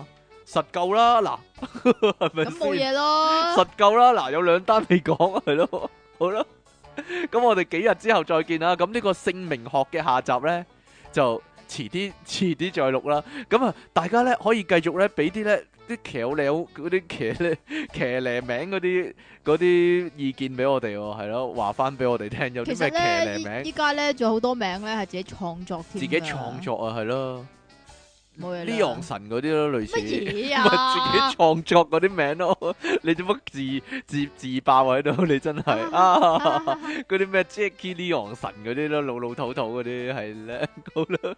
實夠啦，嗱，係咪咁冇先？ 嘢咯。 實夠啦，嗱，有兩單未講，係咯，好啦，咁我哋幾日之後再見啦。咁呢個姓名學嘅下集咧，就遲啲遲啲再錄啦。咁啊，大家咧可以繼續咧俾啲咧啲騎呢嗰啲騎呢騎呢名嗰啲嗰啲意見俾我哋喎，係咯，話翻俾我哋聽有其實啲咩騎呢咧，依名， 依家咧仲有好多名咧係自己創作添㗎。 自己創作啊，係咯。 冇嘢啦。 呢樣神嗰啲咯，類似乜嘢咪啊？ 自己創作嗰啲名咯。你做乜自自自爆喺度？你真係啊！嗰啲咩 Jackie 呢樣神嗰啲咯，老老土土嗰啲係咧，好啦。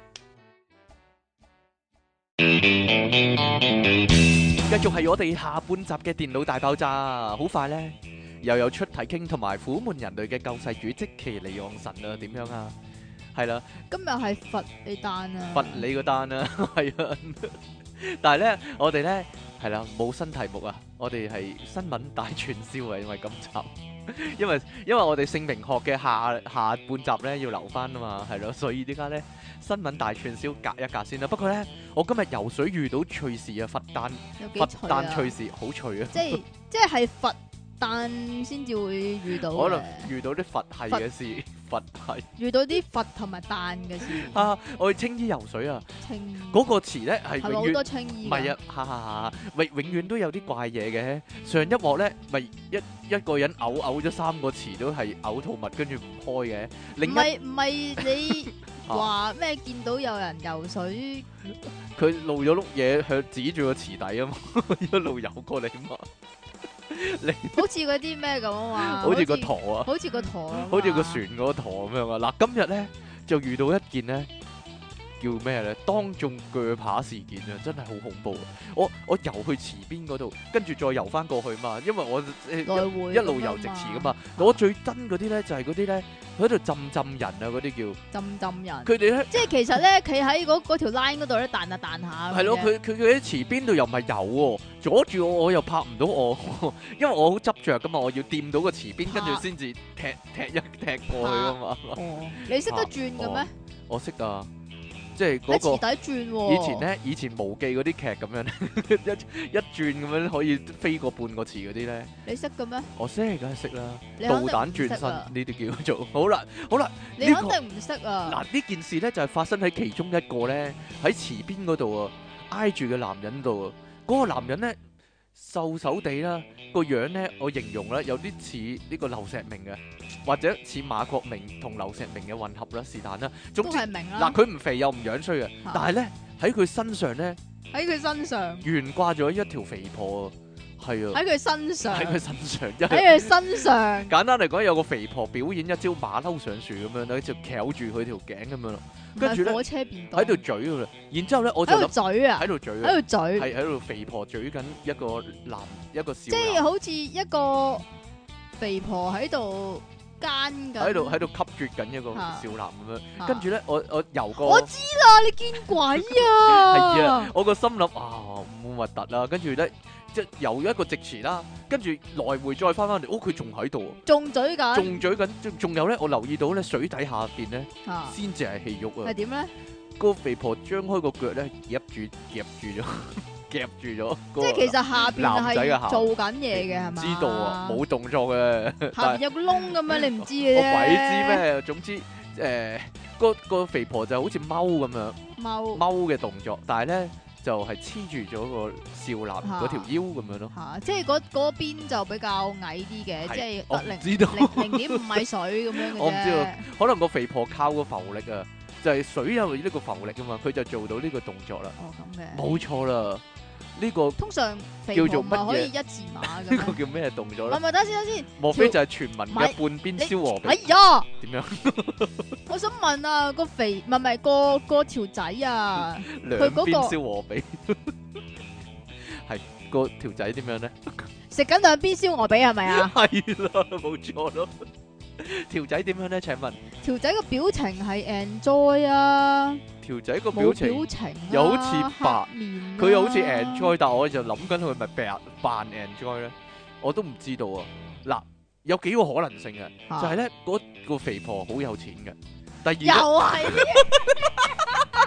繼續係我哋下半集嘅電腦大爆炸，好快咧又有出體傾同埋苦悶人類嘅救世主積淇離岸神啊，點樣啊？係啦。 今日係罰你單啊！ 罰你個單啦，係啊！但係咧，我哋咧係啦，冇新題目啊！我哋係新聞大串燒啊，因為今集，因為因為我哋姓名學嘅下下半集咧要留翻啊嘛，係咯，所以依家咧新聞大串燒隔一隔先啦。不過咧，我今日游水遇到趣事啊，罰單有幾罰脆啊！ 單趣事好趣啊！ 即係即係係罰單先至會遇到嘅， 可能遇到啲佛系嘅事，佛系遇到啲罰同埋彈嘅事。 啊！我去青衣游水啊， 青嗰個詞咧係係咪永遠好多青衣？ 唔係啊，哈哈哈！永永遠都有啲怪嘢嘅。上一幕咧，咪一一個人嘔嘔咗三個詞都係嘔吐物，跟住唔開嘅。 唔另一係唔係你話咩？見到有人游水， 佢露咗碌嘢向指住個池底啊嘛，一路游過嚟嘛。你好似嗰啲咩咁啊嘛， 好似個舵啊， 好似個舵啊嘛， 好似個船嗰個舵咁樣啊！嗱，今日咧就遇到一件咧叫咩咧？當眾鋸扒事件啊，真係好恐怖啊！我我游去池邊嗰度，跟住再游翻過去嘛，因為我誒來回一路游直池噶嘛。我最憎嗰啲咧就係嗰啲咧喺度浸浸人啊，嗰啲叫浸浸人。 佢哋咧。 即係其實咧，企喺嗰嗰條 line 嗰度咧，彈下彈下。 係咯，佢佢佢喺池邊度又唔係游喎，阻住我，我又拍唔到我，因為我好執着噶嘛，我要掂到個池邊，跟住先至踢踢一踢過去噶嘛。 哦，你識得轉嘅咩？ 我識啊，即係嗰喺池個底轉喎。 以前咧，以前無記嗰啲劇咁樣咧，一一轉咁樣可以飛過半個池嗰啲咧， 你識嘅咩？ 我識梗係識啦， 你導肯定唔識彈轉身啊呢啲叫做好啦，好啦， 你呢個肯定唔識啊！ 嗱呢件事咧就係發生喺其中一個咧喺池邊嗰度啊，挨住嘅男人度啊，嗰個男人咧瘦手地啦，個樣咧我形容咧有啲似呢個劉錫明嘅，或者似馬國明同劉錫明嘅混合啦，是但啦。總都之係明啦。 嗱，佢唔肥又唔樣衰嘅，但係咧喺佢身上咧喺佢身上， 懸掛咗一條肥婆啊，係啊， 喺佢身上， 喺佢身上，因喺為佢身上。 簡單嚟講，有個肥婆表演一招馬騮上樹咁樣咧，就翹住佢條頸咁樣咯，跟住咧火車便當喺度嘴㗎啦，然之後咧我就喺度諗嘴啊， 喺度嘴啊， 喺度嘴， 係喺度肥婆嘴緊一個男一個少即係男， 好似一個肥婆喺度奸緊， 喺度喺度吸啜緊一個啊少男咁樣， 啊跟住咧我我游過。 我知啦，你見鬼啊！ 係啊，我個心諗啊，唔核突啦，跟住咧即係游一個直池啦，跟住來回再翻翻嚟，哦佢仲喺度， 仲嘴緊， 仲嘴緊，仲仲有咧，我留意到咧水底下邊咧啊先至係氣肉啊係，點咧？ 個肥婆張開個腳咧夾住夾住咗，夾住咗， 即係其實下邊男仔嘅下係做緊嘢嘅係嘛？ 知道啊，冇動作嘅， 下但係邊有個窿咁樣，你唔知嘅啫。 我鬼知咩？總之誒個個肥婆就好似踎咁樣。 踎踎嘅動作，但係咧就係黐住咗個少男嗰條腰咁樣咯。 嚇，即係嗰嗰邊就比較矮啲嘅， 係即係我得零唔知道， 零零點五米水咁樣嘅啫。 我唔知道可能個肥婆靠個浮力啊，就係水有呢個浮力啊嘛，佢就做到呢個動作啦。 哦咁嘅。 冇錯啦，呢個通常肥叫做婆咪乜嘢可以一字馬呢嘅咩？ 個叫咩動作咧？ 唔係唔係，等陣先等陣先。 莫非就係傳聞嘅半邊燒鵝哎髀呀！ 點樣？ 我想問啊，個肥唔係唔係個個條仔啊， 兩佢嗰個邊燒鵝髀係個條仔點樣咧？ 食緊兩邊燒鵝髀係咪啊？ 係啦，冇錯咯。條仔點樣咧？請問條仔個表情係 enjoy 啊， 條仔個表冇情？ 表情啊， 又好似白黑面啊佢又好似 enjoy，但我就諗緊佢咪扮扮 enjoy 咧，我都唔知道啊。嗱，有幾個可能性嘅， 啊就係咧嗰個肥婆好有錢嘅，第又二呢係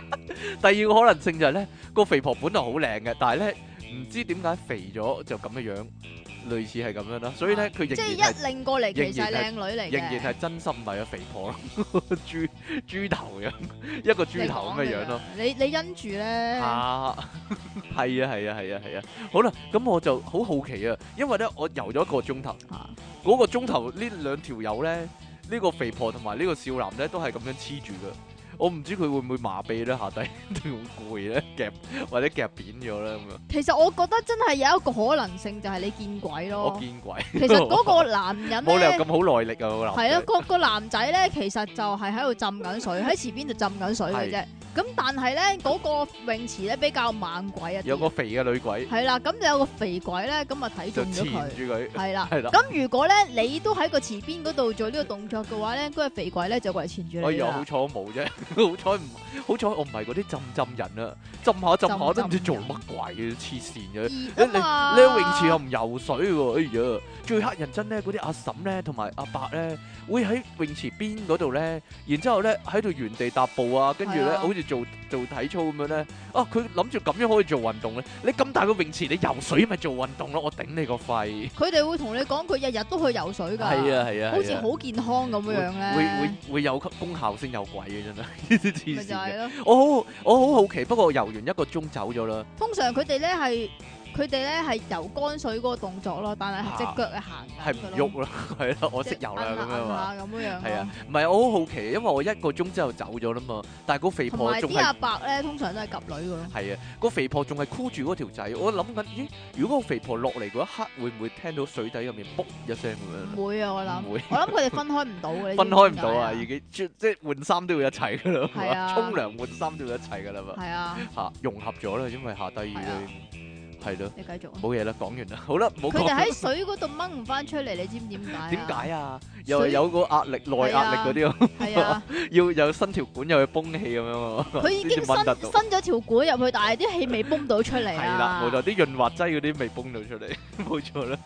第二個可能性就係咧，個肥婆本來好靚嘅，但係咧唔知點解肥咗就咁嘅樣，類似係咁樣啦。所以咧佢即係仍然係一擰過嚟，其實係靚女嚟嘅， 仍然係真心唔係個肥婆咯，豬豬頭樣，一個豬頭咁嘅樣咯。 你你因住咧， 啊，係啊係啊係啊係啊。好啦，咁我就好好奇啊，因為咧我游咗一個鐘頭，嗰個鐘頭呢兩條友咧，呢個肥婆同埋呢個少男咧都係咁樣黐住噶。我唔知佢會唔會麻痹咧，下底定好攰咧，夾或者夾扁咗咧咁樣。 其實我覺得真係有一個可能性，就係你見鬼咯。 我見鬼。 其實嗰個男人冇理由咧， 咁好耐力啊！個男係啊，個個男仔咧，其實就係喺度浸緊水，喺池邊度浸緊水嘅啫。咁但係咧，嗰個泳池咧比較猛鬼啊， 有個肥嘅女鬼。 係啦，咁就有個肥鬼咧，咁啊睇中咗就纏佢。 住佢。 係啦， 係啦。 咁如果咧你都喺個池邊嗰度做呢個動作嘅話咧，嗰個肥鬼咧就過嚟纏住哎呀， 你啦好彩我冇啫，好彩唔好彩我唔係嗰啲浸浸人啊，浸下浸下都唔知做乜鬼嘅，黐線嘅。你熱你啊嘛你喺泳池又唔游水喎，哎呀！最乞人憎咧，嗰啲阿嬸咧同埋阿伯咧，會喺泳池邊嗰度咧，然之後咧喺度原地踏步啊，跟住咧係啊好似做做體操咁樣咧。啊，佢諗住咁樣可以做運動咧。你咁大個泳池，你游水咪做運動咯？我頂你個肺！ 佢哋會同你講，佢日日都去游水㗎。 係啊係啊， 好似好健康咁樣樣咧。 會會會有功效先有鬼嘅真係，呢啲黐咪就線嘅。 係咯。 我好我好好奇，不過游完一個鐘走咗啦。 通常佢哋咧係佢哋咧係游乾水嗰個動作咯，但係隻腳係行係唔喐啦，係啦，我識游啦咁樣嘛。 咁樣樣。 係啊，唔係我好好奇，因為我一個鐘之後走咗啦嘛，但係個肥同埋婆仲係啲阿伯咧，通常都係及女噶咯。 係啊，個肥婆仲係箍住嗰條仔，我諗緊，咦？如果個肥婆落嚟嗰一刻，會唔會聽到水底入面卜一聲咁樣？ 唔會啊，我諗。 唔會。 我諗佢哋分開唔到嘅。 分開唔到啊，已經即即係換衫都要一齊噶啦， 係啊沖涼換衫都要一齊噶啦嘛。 係啊。 嚇融合咗啦，因為下低已經係咯。 你繼續啊。 冇嘢啦，講完啦，好啦，冇講。 佢哋喺水嗰度掹唔翻出嚟，你知唔知點解啊？ 點解啊？又係有個壓力、內壓力嗰啲啊， 係啊， 要有伸條管又去泵氣咁樣喎。 佢已經伸先至掹得到伸咗條管入去，但係啲氣未泵到出嚟係啦， 啊！ 冇錯，啲潤滑劑嗰啲未泵到出嚟，冇錯啦。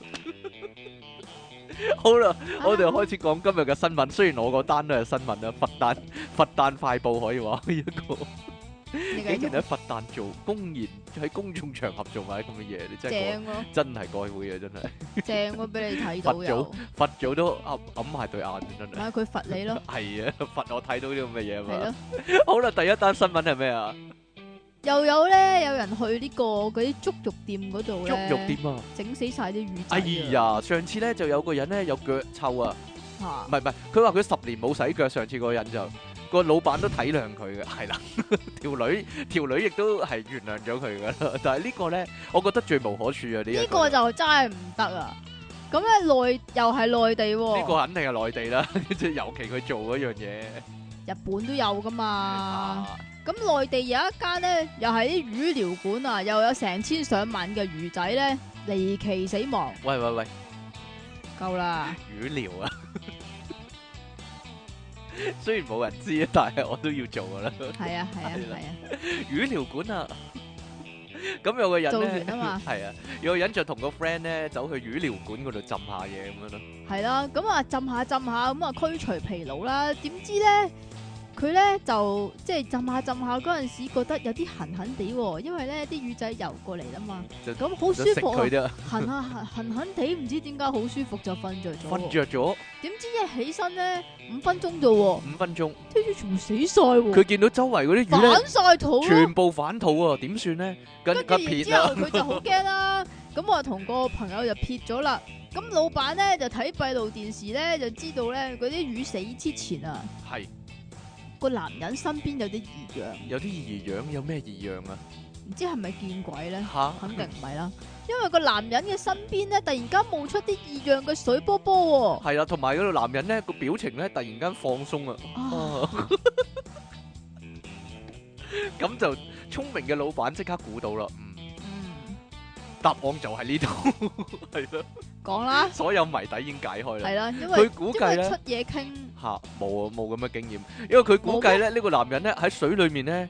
好啦，我哋開始講今日嘅新聞。雖然我嗰單都係新聞啦，佛誕佛誕快報可以話一個。 你繼竟然續。 喺佛誕做公然喺公眾場合做埋啲咁嘅嘢，你真係正咯， 真係該會啊！真係正咯，俾你睇到佛祖有。 佛祖都揞揞埋對眼，真係。 咪佢罰你咯。 係啊，佛我睇到呢啲咁嘅嘢啊嘛。 係咯。 好啦，第一單新聞係咩啊？ 又有咧，有人去呢個嗰啲足浴店嗰度足咧， 浴店啊！ 整死晒啲魚仔哎啊！ 呀，上次咧就有個人咧有腳臭啊， 嚇唔係唔係，佢話佢十年冇洗腳，上次嗰個人就個老闆都體諒佢嘅，係啦，條女條女亦都係原諒咗佢噶啦，但係呢個咧，我覺得罪無可恕啊！呢一呢個就真係唔得啊！咁咧內又係內地喎， 呢個肯定係內地啦，即係尤其佢做嗰樣嘢。 日本都有噶嘛。 啊咁內地有一間咧，又係啲魚療館啊，又有成千上萬嘅魚仔咧離奇死亡。 喂喂喂， 夠啦！ 魚療啊！雖然冇人知啊，但係我都要做噶啦。 係啊係啊係啦係啊， 魚療館啊！咁有個人做咧， 完啊嘛係啊，有個人就同個 friend 咧走去魚療館嗰度浸下嘢咁樣咯。 係啦。咁啊浸下浸下咁啊驅除疲勞啦。點知咧佢咧就即係浸下浸下嗰陣時，覺得有啲痕痕地喎，因為咧啲魚仔游過嚟啦嘛。 就咁好舒就食服啊！ 佢啫， 痕下痕痕痕地，唔知點解好舒服就瞓着咗。 瞓着咗點知一起身咧五分鐘啫喎， 五分鐘， 啲魚全部死晒喎。 佢見到周圍嗰啲魚咧反晒肚咯。 全部反肚啊，點算咧？跟跟住然跟撇啊！ 之後佢就好驚啦，咁我同個朋友就撇咗啦。咁老闆咧就睇閉路電視咧，就知道咧嗰啲魚死之前啊， 係個男人身邊有啲異樣， 有啲異樣，有咩異樣啊？ 唔知係咪見鬼咧？ 吓， 肯定唔係啦，因為個男人嘅身邊咧突然間冒出啲異樣嘅水波波係啦，同埋嗰個男人咧個表情咧突然間放鬆啊！ 喎。啊啊咁就聰明嘅老闆即刻估到啦，嗯， 嗯， 答案就係呢度，係咯， 講啦， 所有謎底已經解開啦。 係啦，因為佢估計咧因為出嘢傾， 吓冇啊，冇咁嘅經驗，因為佢估計咧呢個男人咧喺水裏面咧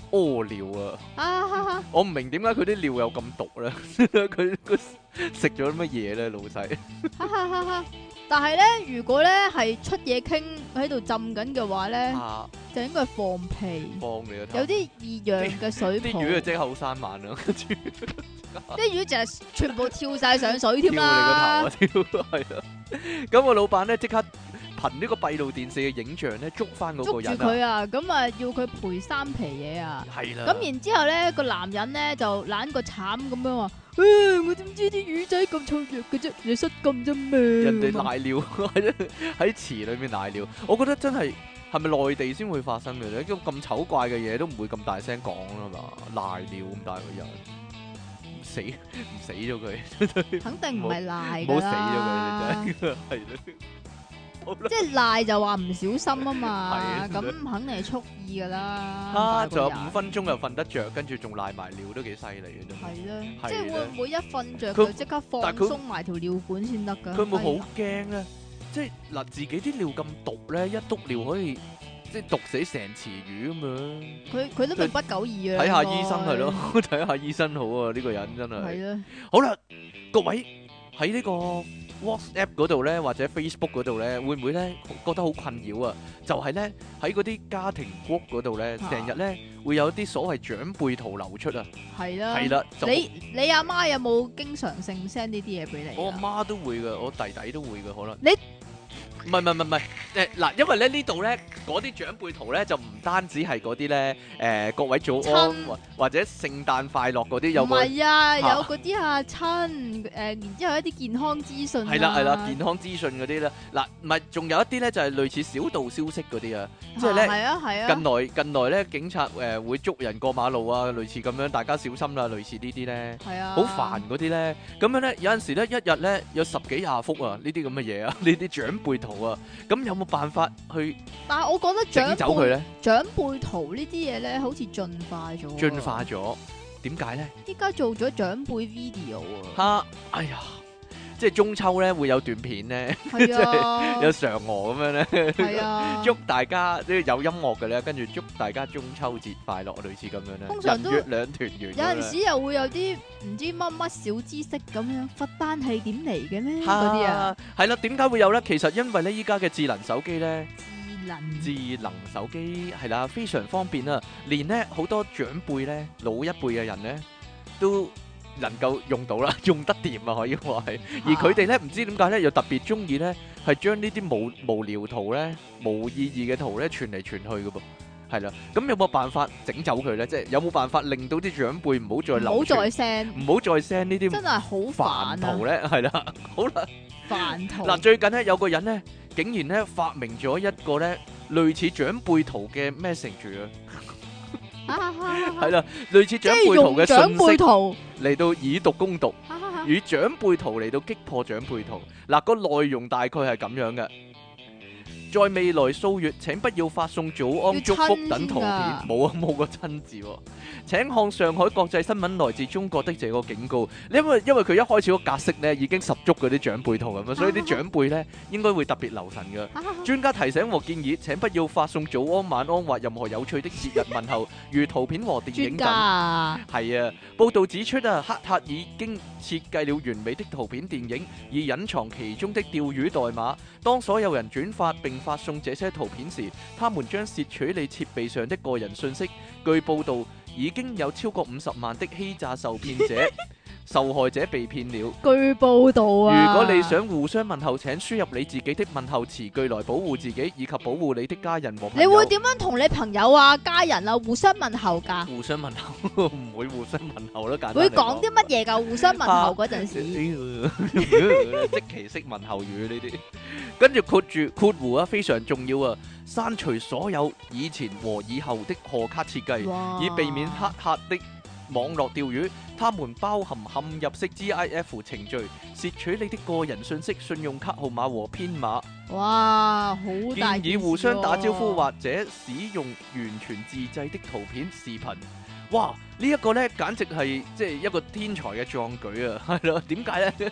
屙尿啊！ 啊哈哈我唔明點解佢啲尿有咁毒咧？佢佢食咗乜嘢咧，老細？ 哈哈哈哈！但係咧，如果咧係出嘢傾喺度浸緊嘅話咧， 啊， 就應該係放屁， 放你個頭！ 有啲異樣嘅水泡。 啲魚啊，即係後生慢啦，跟住啲魚就係全部跳晒上水添跳你個頭啊！ 啦。 跳係啊！咁個老闆咧即刻憑呢個閉路電視嘅影像咧捉翻嗰個捉住人佢啊！ 啊！咁啊，要佢賠三皮嘢啊！ 係啦。 咁然之後咧，個男人咧就懶個慘咁樣話：，誒，我點知啲魚仔咁脆弱嘅啫？你失禁啫咩？ 人哋瀨尿喺喺池裏面瀨尿，我覺得真係係咪內地先會發生嘅咧？咁咁醜怪嘅嘢都唔會咁大聲講啦嘛，瀨尿咁大個人，唔死唔死咗佢， 肯定唔係賴唔好死㗎啦， 咗佢，你真係係咯。好啦即係賴就話唔小心啊嘛， 係咁肯定係蓄意㗎啦。 啊，仲有大個人五分鐘又瞓得着，跟住仲瀨埋尿，都幾犀利嘅真係。 係啦， 係即係會唔會一瞓着佢就即刻放但係佢鬆埋條尿管先得㗎？ 佢會好哎呀驚咧，即係嗱自己啲尿咁毒咧，一篤尿可以即係毒死成池魚咁樣。 佢佢都命不久矣啊！ 睇下應該醫生係咯，睇下醫生好啊！呢個人真係。 係啦， 好啦，各位喺呢個 WhatsApp 嗰度咧，或者 Facebook 嗰度咧，會唔會咧覺得好困擾啊？就係咧喺嗰啲家庭 group 嗰度咧， 啊成日咧會有啲所謂長輩圖流出啊。 係啦， 係啦，就你你阿媽有冇經常性 send 呢啲嘢俾你我阿啊？ 媽都會噶，我弟弟都會噶，可能。 你唔係唔係唔係誒嗱，因為咧呢度咧嗰啲長輩圖咧就唔單止係嗰啲咧誒各位早安親或或者聖誕快樂嗰啲有唔個。 係啊，有嚇嗰啲啊親誒，然之後一啲健康資訊啊係啦係啦，健康資訊嗰啲咧，嗱唔係仲有一啲咧就係類似小道消息嗰啲啊，即係咧係啊係啊， 近來近來咧警察誒會捉人過馬路啊，類似咁樣，大家小心啦，類似呢啲咧， 係啊， 好煩嗰啲咧，咁樣咧有陣時咧一日咧有十幾廿幅啊，呢啲咁嘅嘢啊，呢啲長輩圖啊，咁有冇辦法去但係我覺得整長輩走佢咧？ 長輩圖呢啲嘢咧，好似進化咗。 進化咗，點解咧？ 依家做咗長輩 video 啊， 嚇！哎呀，即係中秋咧會有段片咧， 係啊， 有嫦娥咁樣咧。 係啊， 祝大家即係有音樂嘅咧，跟住祝大家中秋節快樂，類似咁樣咧。 通常都人月兩團圓咁樣。 有陣時又會有啲唔知乜乜小知識咁樣，罰單係點嚟嘅咩？ 嚇嗰啲啊，， 係啦，點解會有咧？其實因為咧，依家嘅智能手機咧， 智能智能手機係啦，非常方便啊！連咧好多長輩咧，老一輩嘅人咧，都能夠用到啦，用得掂啊，可以話係。而佢哋咧唔知點解咧，又特別中意咧，係將呢啲無無聊圖咧、冇意義嘅圖咧傳嚟傳去嘅噃。係啦，咁有冇辦法整走佢咧？即係有冇辦法令到啲長輩唔好再唔好流傳再 send， 唔好再 send 呢啲真係好煩煩啊！ 圖咧？係啦，好啦。 煩圖嗱，最近咧有個人咧，竟然咧發明咗一個咧類似長輩圖嘅 message 啊，係啦，類似即係長輩圖嘅用長信息輩圖， 嚟到以毒攻毒， 哈哈哈與長輩圖嚟到擊破長輩圖。嗱，個內容大概係咁樣嘅。在未來數月，請不要發送早安祝福等圖片， 要親先㗎冇啊冇個親字喎。請看上海國際新聞來自中國的這個警告，因為因為佢一開始個格式咧已經十足嗰啲長輩圖咁樣，所以啲長輩咧應該會特別留神嘅。 哈哈哈專家提醒和建議：請不要發送早安、晚安或任何有趣的節日問候，如圖片和電影專家等。 啊， 係啊，報道指出啊，黑客已經設計了完美的圖片電影，以隱藏其中的釣魚代碼。當所有人轉發並發送這些圖片時，他們將竊取你設備上的個人信息。據報道，已經有超過五十萬的欺詐受騙者、受害者被騙了。 據報道啊， 如果你想互相問候，請輸入你自己的問候詞句來保護自己，以及保護你的家人和朋友。 你會點樣同你朋友啊、家人啊互相問候㗎？ 互相問候？唔會互相問候咯，簡單嚟會講啲乜嘢㗎？互相問候嗰陣時， 即其式問候語呢啲，跟住括住括弧啊，非常重要啊！刪除所有以前和以後的賀卡設計， 哇以避免黑客的網絡釣魚。他們包含嵌入式 G I F 程序，竊取你的個人信息、信用卡號碼和編碼。 哇，好大件事建議互相打招呼喎或者使用完全自製的圖片、視頻。哇！呢一個呢，簡直係即係一個天才嘅壯舉啊！係咯，點解呢？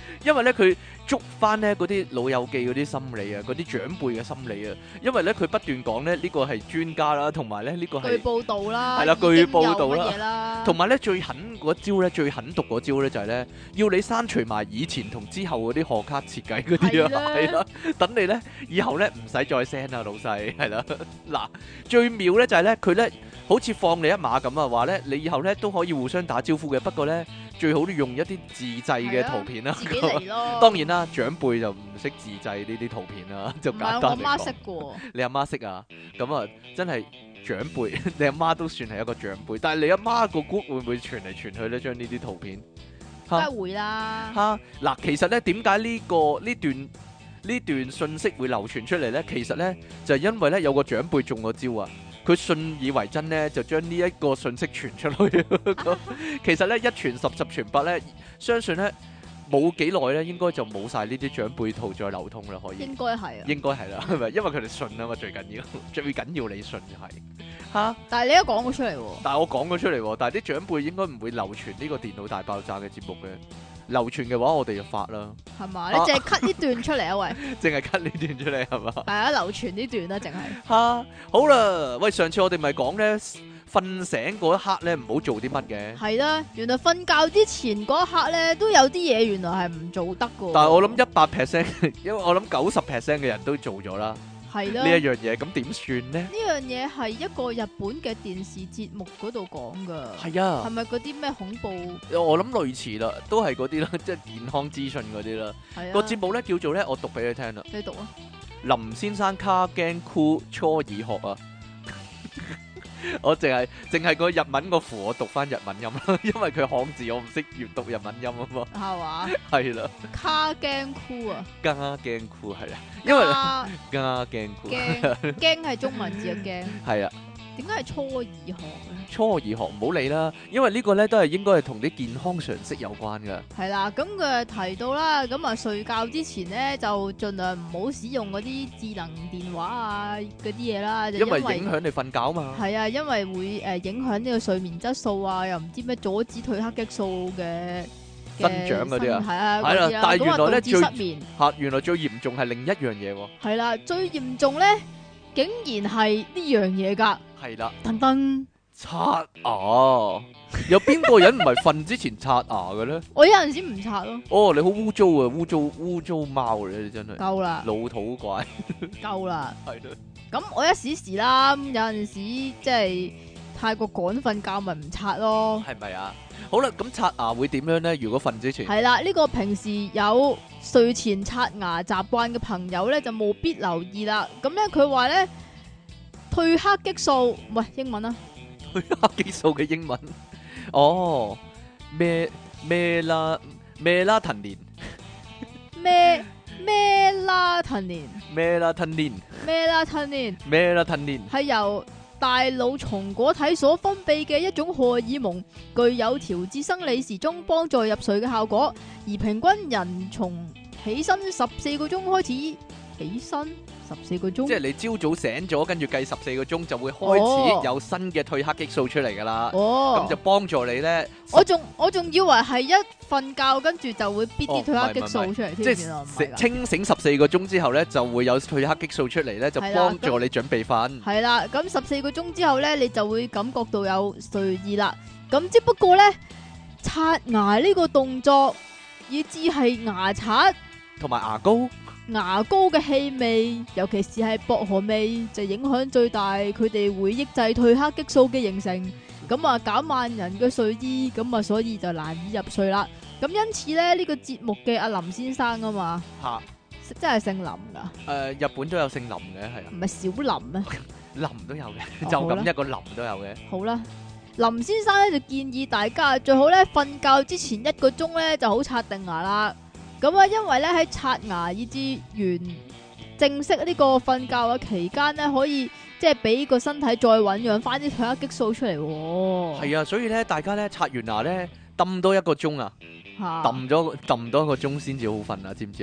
因為咧佢捉翻咧嗰啲老友記嗰啲心理啊，嗰啲長輩嘅心理啊。因為咧佢不斷講咧呢個係專家啦，同埋咧呢個係據報道啦， 係啦，據報道啦已經有乜嘢啦， 同埋咧最狠嗰招咧，最狠毒嗰招咧就係咧，要你刪除埋以前同之後嗰啲賀卡設計嗰啲啊，係啦，等你咧以後咧唔使再 send 啊，老細係啦。嗱，最妙咧就係咧佢咧好似放你一馬咁啊，話咧你以後咧都可以互相打招呼嘅，不過咧最好都用一啲自製嘅圖片啦。 自己嚟咯。 當然啦，長輩就唔識自製呢啲圖片啦，就唔簡單嚟係我媽識講。 嘅， 你阿媽識啊？咁啊，真係長輩，你阿媽都算係一個長輩，但係你阿媽個 group 會唔會傳嚟傳去咧？將呢啲圖片梗係會啦。 嚇嗱，其實咧點解呢個呢段呢段信息會流傳出嚟咧？其實咧就係因為咧有個長輩中咗招啊！佢信以為真咧，就將呢一個信息傳出去。其實咧一傳十，十傳百咧，相信咧冇幾耐咧，應該就冇晒呢啲長輩圖再流通啦。可以應該係啊。 應該係啦，係咪？因為佢哋信啊嘛，最緊要最緊要你信就係嚇。 但係你一講咗出嚟喎， 但係我講咗出嚟喎，但係啲長輩應該唔會流傳呢個電腦大爆炸嘅節目嘅。流傳嘅話，我哋就發啦。 係嘛？你淨係 cut 呢段出嚟啊？喂， 淨係 cut 呢段出嚟係嘛？ 係啊，流傳呢段啦，淨係。 嚇，好啦，喂，上次我哋咪講咧，瞓醒嗰一刻咧，唔好做啲乜嘅。 係啦，原來瞓覺之前嗰一刻咧，都有啲嘢原來係唔做得嘅。 但係我諗一百 percent，因為我諗九十 percent 嘅人都做咗啦。 係啦， 呢一樣嘢，咁點算呢？ 呢樣嘢係一個日本嘅電視節目嗰度講㗎。 係啊， 係咪嗰啲咩恐怖？ 我諗類似啦，都係嗰啲啦，即係健康資訊嗰啲啦。 係啊。 個節目咧叫做咧，我讀俾你聽啦。 你讀啊。 林先生卡驚酷初爾學啊！我淨係淨係個日文個符，我讀翻日文音啦，因為佢漢字我唔識閱讀日文音啊嘛。 係嘛？ 係啦， 卡驚酷啊！ 加驚酷係啦，因為加加驚酷驚驚係中文字嘅驚。 係啊。 點解係初二學咧？ 初二學唔好理啦，因為呢個咧都係應該係同啲健康常識有關噶。 係啦，咁佢提到啦，咁啊睡覺之前咧就盡量唔好使用嗰啲智能電話啊嗰啲嘢啦，就因為影響你瞓覺嘛。 係啊，因為會誒影響呢個睡眠質素啊，又唔知咩阻止褪黑激素嘅增長嗰啲啊， 係啊， 係啦，但係原來咧最失眠嚇，原來最嚴重係另一樣嘢喎。 係啦，最嚴重咧竟然係呢樣嘢㗎。 係啦， 噔噔刷牙，有邊個人唔係瞓之前刷牙嘅咧？ 我有陣時唔刷咯。 哦，你好污糟啊，污糟污糟貓嚟，你真係夠啦， 老土怪， 夠啦。 係咯。 咁我一時時啦，有陣時即係太過趕瞓覺，咪唔刷咯。 係咪啊？好啦，咁刷牙會點樣咧？如果瞓之前係啦，呢個平時有睡前刷牙習慣嘅朋友咧，就務必留意啦。咁咧，佢話咧。褪黑激素，唔係英文啊！ 褪黑激素嘅英文，哦，咩咩啦咩啦騰年， 咩咩啦騰年， 咩啦騰年， 咩啦騰年， 咩啦騰年， 係由大腦松果體所分泌嘅一種荷爾蒙，具有調節生理時鐘、幫助入睡嘅效果。而平均人從起身十四個鐘開始起身。十四個鐘， 即係你朝早醒咗，跟住計十四個鐘就會開始有新嘅褪黑激素出嚟噶啦。哦，咁就幫助你咧。 我仲我仲以為係一瞓覺跟住就會逼啲褪黑激素出嚟添。 即係清醒十四個鐘之後咧，就會有褪黑激素出嚟咧，就幫助你準備瞓。係啦， 咁十四個鐘之後咧，你就會感覺到有睡意啦。咁只不過咧，刷牙呢個動作，以至係牙刷同埋牙膏。 牙膏嘅氣味，尤其是係薄荷味，就影響最大。佢哋會抑制褪黑激素嘅形成，咁啊減慢人嘅睡意，咁啊所以就難以入睡啦。咁因此咧，呢、這個節目嘅阿林先生啊嘛，吓哈，真係姓林噶。誒、 呃，日本都有姓林嘅，係啊， 唔係小林咩？ 林都有嘅， 哦、 就咁一個林都有嘅。 好啦，林先生咧就建議大家最好咧瞓覺之前一個鐘咧就好刷定牙啦。咁啊，因為咧喺刷牙以至完正式呢個瞓覺嘅期間咧，可以即係俾個身體再醞釀翻啲褪黑激素出嚟。 係啊，所以咧，大家咧刷完牙咧，抌多一個鐘啊，抌咗抌多一個鐘先至好瞓啊，知唔知啊？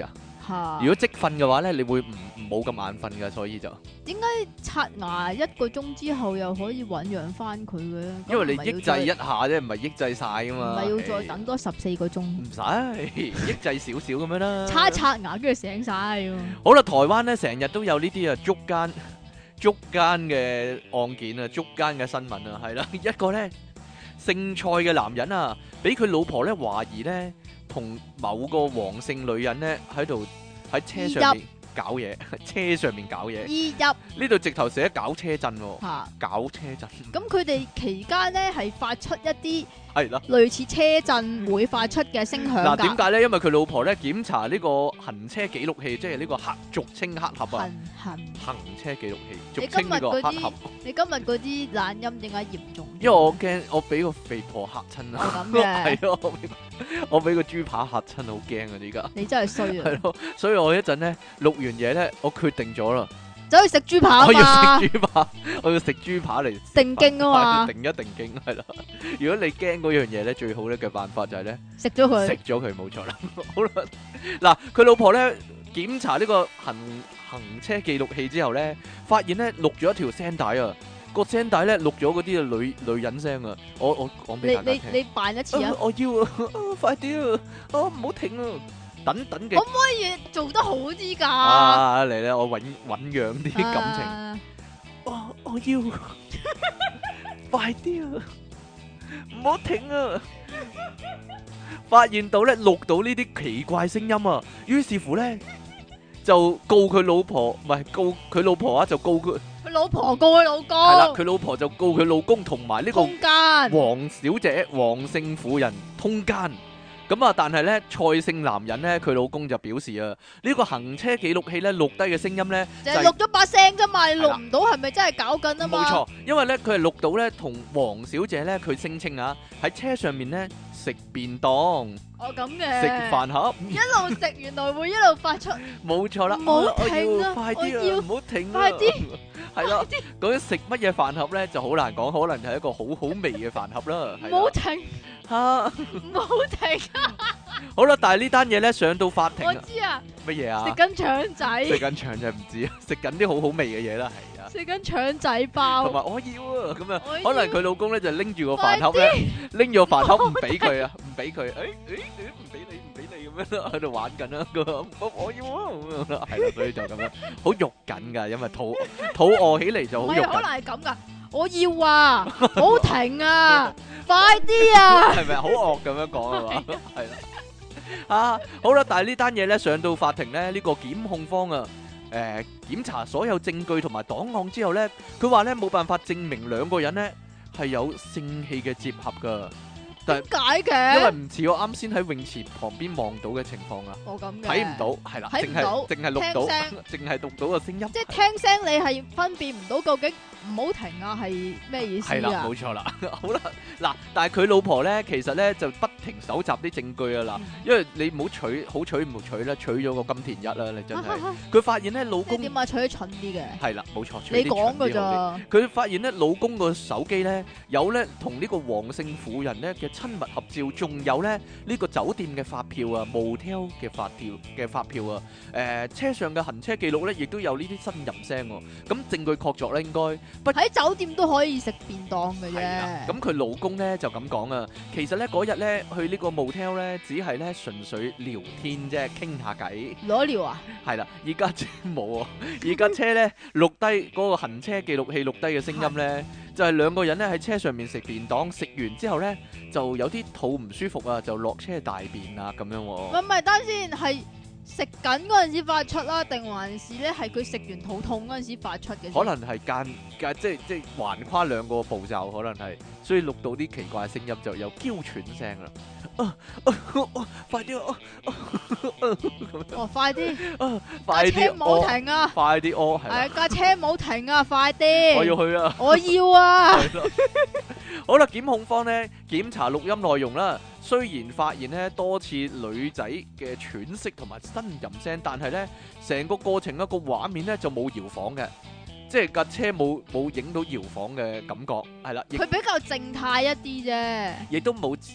嚇如果即瞓嘅話咧，你會唔冇咁眼瞓㗎，所以就點解刷牙一個鐘之後又可以醖釀翻佢嘅咧？ 因為你咁唔係要抑制再一下啫，唔係抑制晒㗎唔嘛。 係要再等多十四個鐘， 唔使抑制少少咁樣啦。 刷一刷牙跟住醒晒喎。 好啦，台灣咧成日都有呢啲啊捉奸捉奸嘅案件啊，捉奸嘅新聞啊，係啦，一個咧姓蔡嘅男人啊，俾佢老婆咧懷疑咧同某個黃姓女人咧喺度喺車上面搞嘢，車上面搞嘢。 二入呢度直頭寫搞車震喎， 嚇， 搞車震。 咁佢哋期間咧係發出一啲係啦。 類似車震會發出嘅聲響嗱， 㗎。 點解咧？因為佢老婆咧檢查呢個行車記錄器，即係呢個黑俗稱黑盒啊， 痕痕？ 行車記錄器， 你俗稱呢個黑盒。 你今日嗰啲懶音點解嚴重？ 因為我驚我俾個肥婆嚇親啊！ 哦咁嘅係咯，我俾個我俾個豬扒嚇親，好驚啊！而家你真係衰啊！ 係咯，所以我一陣咧錄完嘢咧，我決定咗啦， 走去食豬扒啊我要嘛， 食豬扒，我要食豬扒嚟定經啊嘛， 定一定經係啦。如果你驚嗰樣嘢咧，最好咧嘅辦法就係咧食咗佢食咗佢，冇錯啦。好啦，嗱，佢老婆咧檢查呢個行行車記錄器之後咧，發現咧錄咗一條聲帶啊，個聲帶咧錄咗嗰啲女女人聲啊，我我講俾你大家聽。 你你扮一次啊！ 我要啊！快啲啊！啊唔好停啊！等等嘅可唔可以做得好啲㗎？ 啊嚟咧，我醞醞釀啲感情。 啊我我要快啲啊！唔好停啊！發現到咧錄到呢啲奇怪聲音啊，於是乎咧就告佢老婆，唔係告佢老婆啊，就告佢佢老婆告佢老係啦， 公， 佢老婆就告佢老公同埋呢個空間黃小姐、黃姓婦人通姦。咁啊，但係咧蔡姓男人咧，佢老公就表示啊，呢個行車記錄器咧錄低嘅聲音咧就係錄咗把聲啫嘛，你錄唔到係咪真係搞緊啊嘛？ 冇錯，因為咧佢係錄到咧同黃小姐咧，佢聲稱啊喺車上面咧食便當、 哦咁嘅， 食飯盒， 一路食原來會一路發出， 冇錯啦。 唔好我停啊要快啲我要啊，唔好停啊！ 快啲， 係啦，究竟食乜嘢飯盒咧就好難講，可能係一個好好味嘅飯盒啦。係啦唔好停， 嚇， 唔好停， 好啦，但係呢單嘢咧上到法庭啊， 我知啊， 乜嘢啊？ 食緊腸仔， 食緊腸就唔知啊，食緊啲好好味嘅嘢啦，係啊。 食緊腸仔同包， 埋我要啊，咁啊我，要可能佢老公咧就拎住個飯盒咧，拎住個飯盒唔俾佢啊，唔俾佢，誒誒誒，唔俾你，唔俾你咁樣喺度玩緊啦，佢我我要啊，咁樣啦，係啦，所以就咁樣，好肉緊噶，因為肚肚餓起嚟就好肉唔係可能緊， 係咁噶，我要啊，唔好停啊，快啲啊！ 係咪好惡咁樣講啊嘛？係啦，啊好啦，但係呢單嘢咧上到法庭咧，呢個檢控方啊。誒檢查所有證據同埋檔案之後咧，佢話咧冇辦法證明兩個人咧係有性器嘅接合噶，但點解因為嘅？ 唔似我啱先喺泳池旁邊望到嘅情況啊， 我咁嘅， 睇唔到，係啦，淨係睇唔到淨係錄到， 聽聲淨係錄到個聲音， 即係聽聲你係分辨唔到究竟唔好停啊係咩意思係啦， 啊？ 冇錯啦，好啦，嗱，但係佢老婆咧其實咧就不停搜集啲證據啊嗱，因為你唔好取好取唔好取啦，取咗個金田一啦，你真係，佢發現咧老公即係點啊？取得蠢啲嘅， 係啦，冇錯，取你啲講㗎蠢啲好啲咋？ 佢發現咧，老公個手機咧有咧同呢個黃姓婦人咧嘅親密合照，仲有咧呢個酒店嘅發票啊，motel 嘅發票嘅發票啊，誒車上嘅行車記錄咧，亦都有呢啲呻吟聲喎。咁證據確鑿咧，應該不喺酒店都可以食便當嘅係啦。 啫。 咁佢老公咧就咁講啊，其實咧嗰日咧去呢個 motel 咧，只係咧純粹聊天啫，傾下偈。 攞料啊？ 係啦，而家車冇啊，而家車咧錄低嗰個行車記錄器錄低嘅聲音咧，就係兩個人咧喺車上面食便當，食完之後咧就有啲肚唔舒服啊，就落車大便啊咁樣喎。 唔係唔係，等先係食緊嗰陣時發出啦，定還是咧係佢食完肚痛嗰陣時發出嘅先？ 可能係間間即係即係橫跨兩個步驟，可能係，所以錄到啲奇怪聲音就有嬌喘聲啦。啊啊啊快啲啊！ 哦，快啲！ 啊快啲架車唔好停啊！ 快啲屙係啦係架車唔好停啊！快啲！ 我要去啊！ 我要啊！ 係咯，好啦，檢控方咧檢查錄音內容啦，雖然發現咧多次女仔嘅喘息同埋呻吟聲，但係咧成個過程一個畫面咧就冇搖晃嘅，即係架車冇冇影到搖晃嘅感覺，係啦，亦佢比較靜態一啲啫。 亦都冇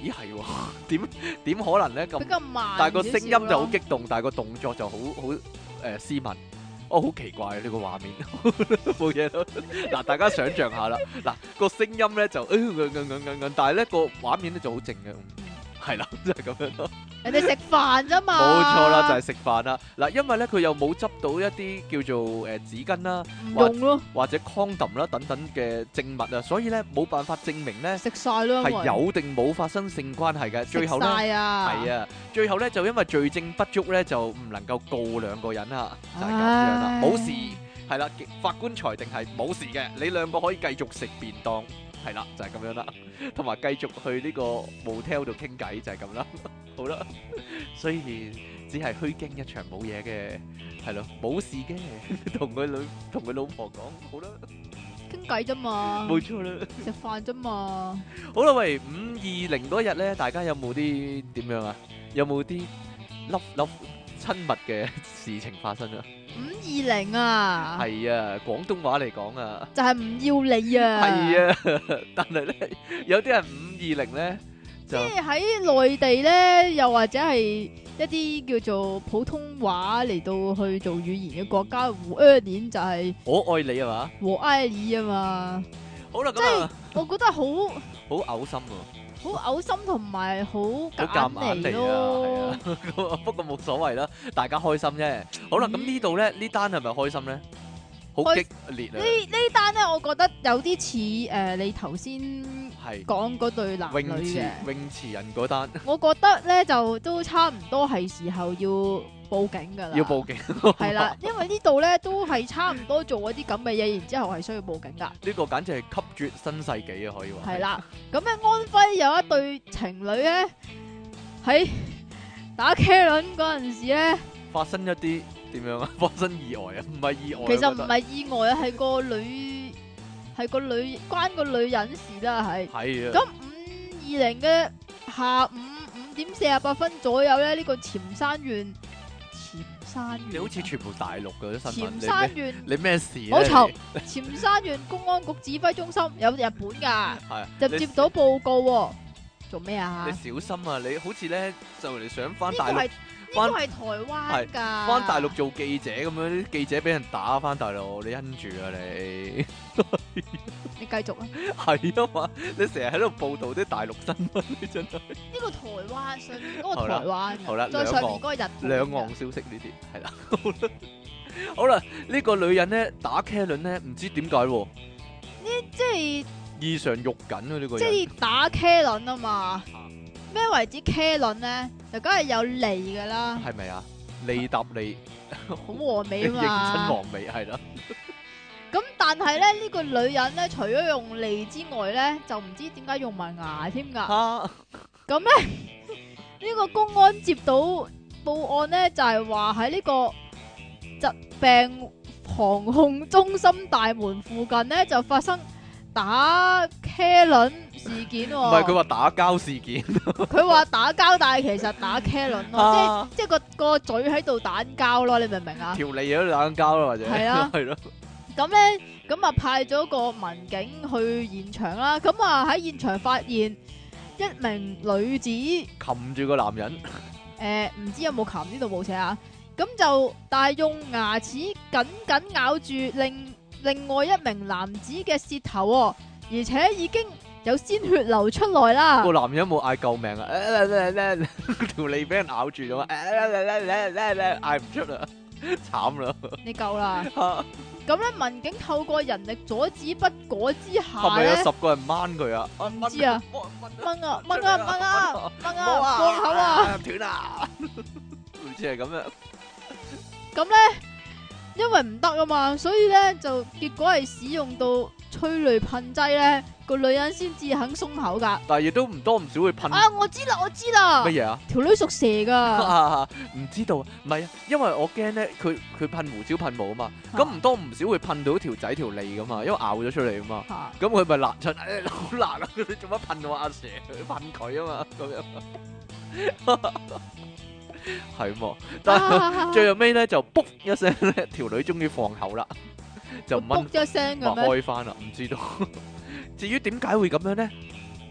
咦係喎，點點可能咧咁比？較慢但係個少少聲音就好咯激動，但係個動作就好好誒斯文。哦，好奇怪啊！呢個畫面冇嘢咯。嗱，大家想象下啦。嗱，個聲音咧就嗯嗯嗯嗯嗯，但係咧個畫面咧就好靜嘅。係啦，就係咁樣咯。 人哋食飯啫嘛。 冇錯啦，就係食飯啦。嗱，因為咧佢又冇執到一啲叫做誒紙巾啦， 唔用咯， 或者 condom 啦等等嘅證物啊，所以咧冇辦法證明咧食晒咯， 係有定冇發生性關係嘅。最後咧係啊， 係啊，最後咧就因為罪證不足咧，就唔能夠告兩個人啦，就係咁樣啦，冇事係啦。法官裁定係冇事嘅，你兩個可以繼續食便當。係啦，就係咁樣啦，同埋繼續去呢個 motel 度傾偈，就係咁啦。好啦，雖然只係虛驚一場，冇嘢嘅，係咯，冇事嘅，同佢女同佢老婆講，好啦， 傾偈啫嘛， 冇錯啦， 食飯啫嘛。 好啦，喂，五二零嗰日咧，大家有冇啲點樣啊？有冇啲粒粒親密嘅事情發生啊？ 五二零啊， 係啊，廣東話嚟講啊， 就係唔要你啊。 係啊，但係咧有啲人五二零咧就即係喺內地咧，又或者係一啲叫做普通話嚟到去做語言嘅國家，胡二年就係我愛你係嘛？ 和愛你啊嘛。 好啦， 即係咁啊， 我覺得好好嘔心喎。 好嘔心同埋好好夾夾硬硬嚟嚟啊， 咯。 係啊，咁啊不過冇所謂啦，大家開心啫。好啦，咁呢度咧呢單係咪開心咧？好開激烈啊！ 呢呢單咧，我覺得有啲似誒你頭先係講嗰對男女泳池嘅。 泳池人嗰單我覺得咧就都差唔多係時候要報警㗎啦。 要報警， 係啦，因為呢度咧都係差唔多做一啲咁嘅嘢，然之後係需要報警㗎。 呢個簡直係吸絕新世紀啊！可以話係啦，咁咧安徽有一對情侶咧喺打茄輪嗰陣時咧， 發生一啲點樣啊？發生意外啊？唔係意外， 其實唔我覺得係意外啊，係個女係個女關個女人事啦，係。 係啊， 咁五二零嘅下午五點四十八分左右咧，呢、個潛山縣潛山縣你好似全部大陸嘅啲新聞， 潛山你咩縣你咩事咧？ 冇嘈你潛山縣公安局指揮中心有日本㗎， 係啊你就接到報告喎，做咩啊？ 你呢小心啊！你好似咧就嚟想翻個大陸係。呢個係台灣㗎， 翻大陸做記者咁樣，啲記者俾人打翻大陸，你因住啊你， 你繼續啊！ 係啊嘛，你成日喺度報導啲大陸新聞，你真係呢個台灣上面嗰個好啦台灣㗎好啦再上面嗰個日本㗎兩岸消息呢啲係啦。好啦，好啦，呢個女人咧打茄輪咧，唔知點解喎， 即係異常肉緊啊呢個即人， 係打茄輪啊嘛。咩為之茄輪咧？就梗係有脷㗎啦， 係咪啊？利搭利， 好和美認啊嘛。 真黃尾係啦， 咁但係咧，呢個女人咧，除咗用脷之外咧，就唔知點解用埋牙添㗎。 嚇咁咧，呢個公安接到報案咧，就係話喺呢個疾病防控中心大門附近咧，就發生打茄輪事件喎。 唔係佢話打交事件， 佢話打交，但係其實打茄輪咯， 啊即係即係個個嘴喺度打交咯，你明唔明啊？ 條脷喺度打緊交啦，或者係啊係咯， 咁咧，咁啊派咗個民警去現場啦，咁啊喺現場發現一名女子，誒擒住個男人， 唔知有冇擒呢度冇寫啊，咁就但係用牙齒緊緊咬住另另外一名男子嘅舌頭喎，而且已經有鮮血流出來啦個。男人有冇嗌救命啊？條脷俾人咬住咗啊！嗌唔出啦，慘啦！ 你夠啦。咁咧，民警透過人力阻止不果之係下咪有咧， 十個人掹佢啊？ 唔知啊，掹啊掹啊掹啊掹冇啊，放口啊！ 斷啊！好似係咁樣， 咁咧，因為唔得啊嘛，所以咧就結果係使用到催淚噴劑咧，個女人先至肯鬆口噶。 但係亦都唔多唔少會噴啊，我知啦，我知啦乜，嘢啊？ 條女屬蛇噶， 唔知道，唔係啊，因為我驚咧，佢佢噴胡椒噴霧啊嘛， 啊咁唔多唔少會噴到條仔條脷噶嘛，因為咬咗出嚟啊嘛， 嚇咁佢咪辣親，誒好辣啊！你做乜噴我阿蛇？噴佢啊嘛，咁樣係喎，但係啊最後尾咧就卜一聲咧，條女終於放口啦，就掹卜一聲擘嘅咩？ 開翻啦，唔知道。至於點解會咁樣咧？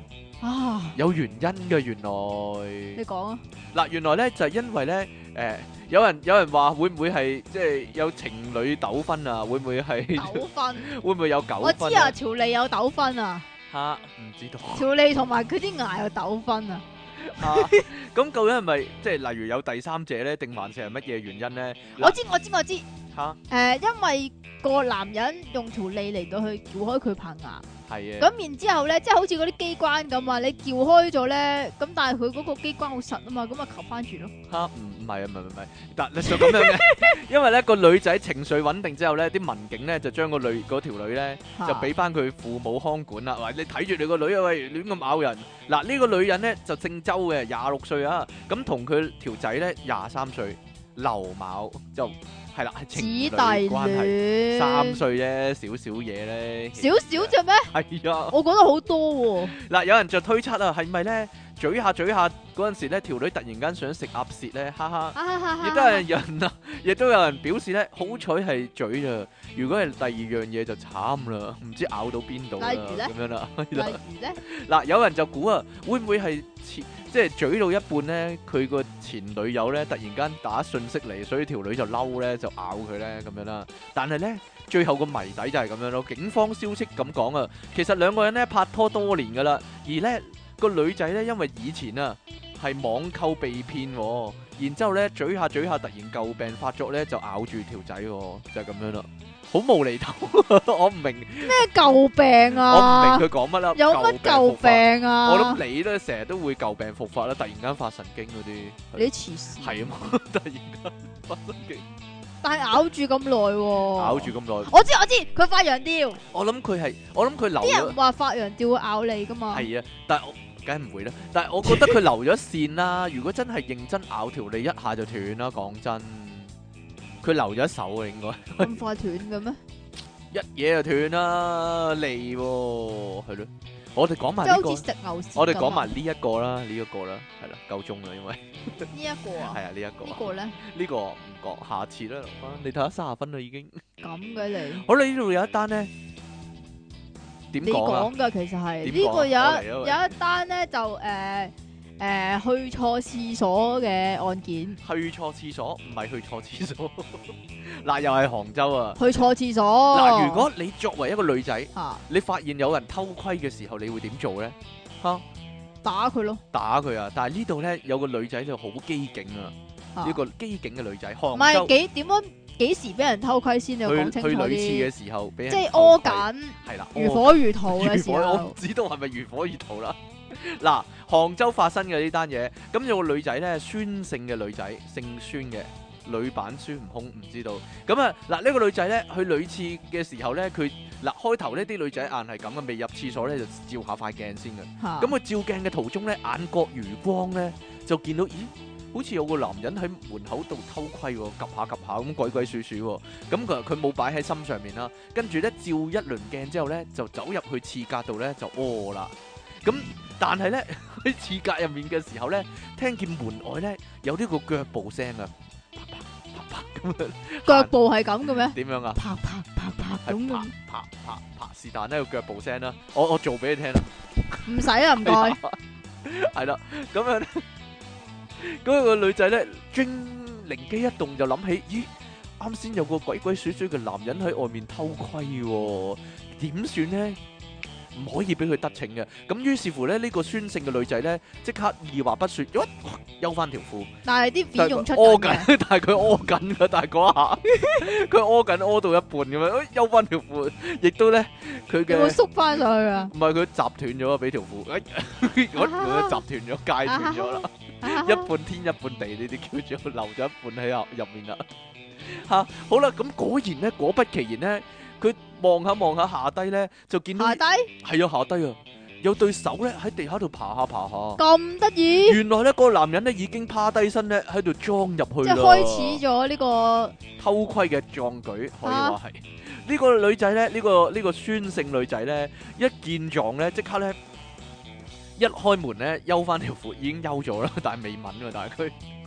啊， 有原因嘅原來。 你講啊， 嗱，原來咧就係因為咧，誒有人有人話會唔會係即係有情侶糾紛啊？會唔會係糾紛， 會唔會有糾我知啊， 紛啊？ 條脷有糾紛啊， 嚇，唔知道。 條脷同埋佢啲牙有糾紛啊， 啊，咁究竟係咪即係例如有第三者咧，定還是係乜嘢原因咧？ 我知我知我知， 嚇， 誒，因為個男人用條脷嚟到去撬開佢棚牙。 係啊， 咁然之後咧，即係好似嗰啲機關咁啊，你撬開咗咧，咁但係佢嗰個機關好實啊嘛，咁啊求翻住咯。 嚇，唔唔係啊，唔係唔係，但你就咁樣嘅，因為咧個女仔情緒穩定之後咧，啲民警咧就將個女嗰條女咧就俾翻佢父母看管啦。喂，你睇住你個女啊，喂，亂咁咬人。嗱，呢個女人咧就姓周嘅，廿六歲啊，咁同佢條仔咧廿三歲，劉某就係啦，係姊情弟侶關係。 戀三歲啫，少少嘢咧。 少少啫咩？ 係啊， 我覺得好多喎。 嗱，有人就推測啊，係咪咧嘴下嘴下嗰陣時咧，條女突然間想食鴨舌咧，哈哈。亦都係人啊，亦都有人表示咧，好彩係嘴啊，如果係第二樣嘢就慘啦，唔知咬到邊度啦， 例如呢咁樣啦。 例如咧， 嗱，有人就估啊，會唔會係前即係嘴到一半咧，佢個前女友咧突然間打訊息嚟，所以條女就嬲咧，就咬佢咧咁樣啦。但係咧，最後個謎底就係咁樣咯。警方消息咁講啊，其實兩個人咧拍拖多年噶啦，而咧個女仔咧因為以前啊係網購被騙喎，然之後咧嘴下嘴下突然舊病發作咧就咬住條仔喎，就係咁樣啦。好無厘頭，我唔明咩舊病我唔啊？ 明佢講乜啦。 有乜舊病啊？ 我諗你咧成日都會舊病復發啦，突然間發神經嗰啲。 你黐線。 係啊嘛，突然間發神經， 但係咬住咁耐喎。 咬住咁耐。 我知我知，佢發羊吊。 我諗佢係，我諗佢留啲人咗。 話發羊吊會咬你噶嘛？ 係啊，但係我梗係唔會啦。但係我覺得佢留咗線啦。如果真係認真咬條脷，一下就斷啦。講真，佢留咗手啊，應該咁快斷嘅咩？ 一嘢就斷啦，脷喎，係咯。我哋講埋呢個即係好似，食牛屎咁啊。 我哋講埋呢一個啦，呢一個啦，係啦，夠鐘啦，因為呢一個啊。 係啊，呢一個啊。 呢個咧呢個唔講，下次啦，留返你睇下三十分啦已經。 咁嘅你。 好啦，呢度有一單咧，點你講啊？ 講噶，其實係點講啊呢個有我嚟啊喂一有一單咧，就誒誒去錯廁所嘅案件， 去錯廁所，唔係去錯廁所。嗱，又係杭州啊！ 去錯廁所。 嗱，如果你作為一個女仔， 嚇你發現有人偷窺嘅時候，你會點做咧？嚇， 打佢咯， 打佢啊！但係呢度咧有個女仔就好機警啊！ 嚇呢個機警嘅女仔，杭唔係州幾點樣幾時俾人偷窺先？你要講去清楚去女廁啲， 嘅時候俾人即係偷窺屙緊係啦， 如火如荼嘅時如火，我唔候， 知道係咪如火如荼啦。嗱，杭州發生嘅呢單嘢，咁有個女仔咧，孫姓嘅女仔，姓孫嘅女版孫悟空，唔知道。咁啊，嗱呢個女仔咧去女廁嘅時候咧，佢嗱開頭呢啲女仔硬係咁嘅，未入廁所咧就照下塊鏡先嘅。 嚇咁佢照鏡嘅途中咧，眼角餘光咧就見到，咦？好似有個男人喺門口度偷窺喎，及下及下咁鬼鬼祟祟喎。咁佢佢冇擺喺心上面啦。跟住咧照一輪鏡之後咧，就走入去廁格度咧就屙啦。咁但係咧喺廁格入面嘅時候咧，聽見門外咧有呢個腳步聲啊，啪啪啪啪咁樣。 腳步係咁嘅咩？ 點樣啊？ 啪啪啪啪咁係啪嘅， 啪啪啪，是但呢個腳步聲啦。我我做俾你聽啦。 唔使啊，唔該。 係啦，咁樣咧，嗰個女仔咧，驚靈機一動就諗起，咦，啱先有個鬼鬼祟祟嘅男人喺外面偷窺喎，點算咧？唔可以俾佢得逞嘅。咁於是乎咧，呢個孫姓嘅女仔咧，即刻二話不說，喐休翻條褲， 但係啲但係片用出屙緊嘅， 緊，但係佢屙緊㗎，但係嗰下佢屙緊屙到一半咁樣，休翻條褲，亦都咧佢有冇嘅。 縮翻上去啊？ 唔係佢砸斷咗啊！俾條褲，哎，我我砸斷咗，戒斷咗啦，一半天一半地呢啲叫做留咗一半喺入入面啦。嚇，好啦，咁果然咧，果不其然咧，佢望下望下下低咧，就見到下低係啊下低啊，有對手咧喺地下度爬下爬下。 咁得意， 原來咧個男人咧已經趴低身咧喺度裝入去啦， 即係開始咗呢個偷窺嘅壯舉，可以話係。呢個女仔咧，呢個呢個孫姓女仔咧，一見狀咧，即刻咧一開門咧，休翻條褲已經休咗啦，但係未抿㗎，但係佢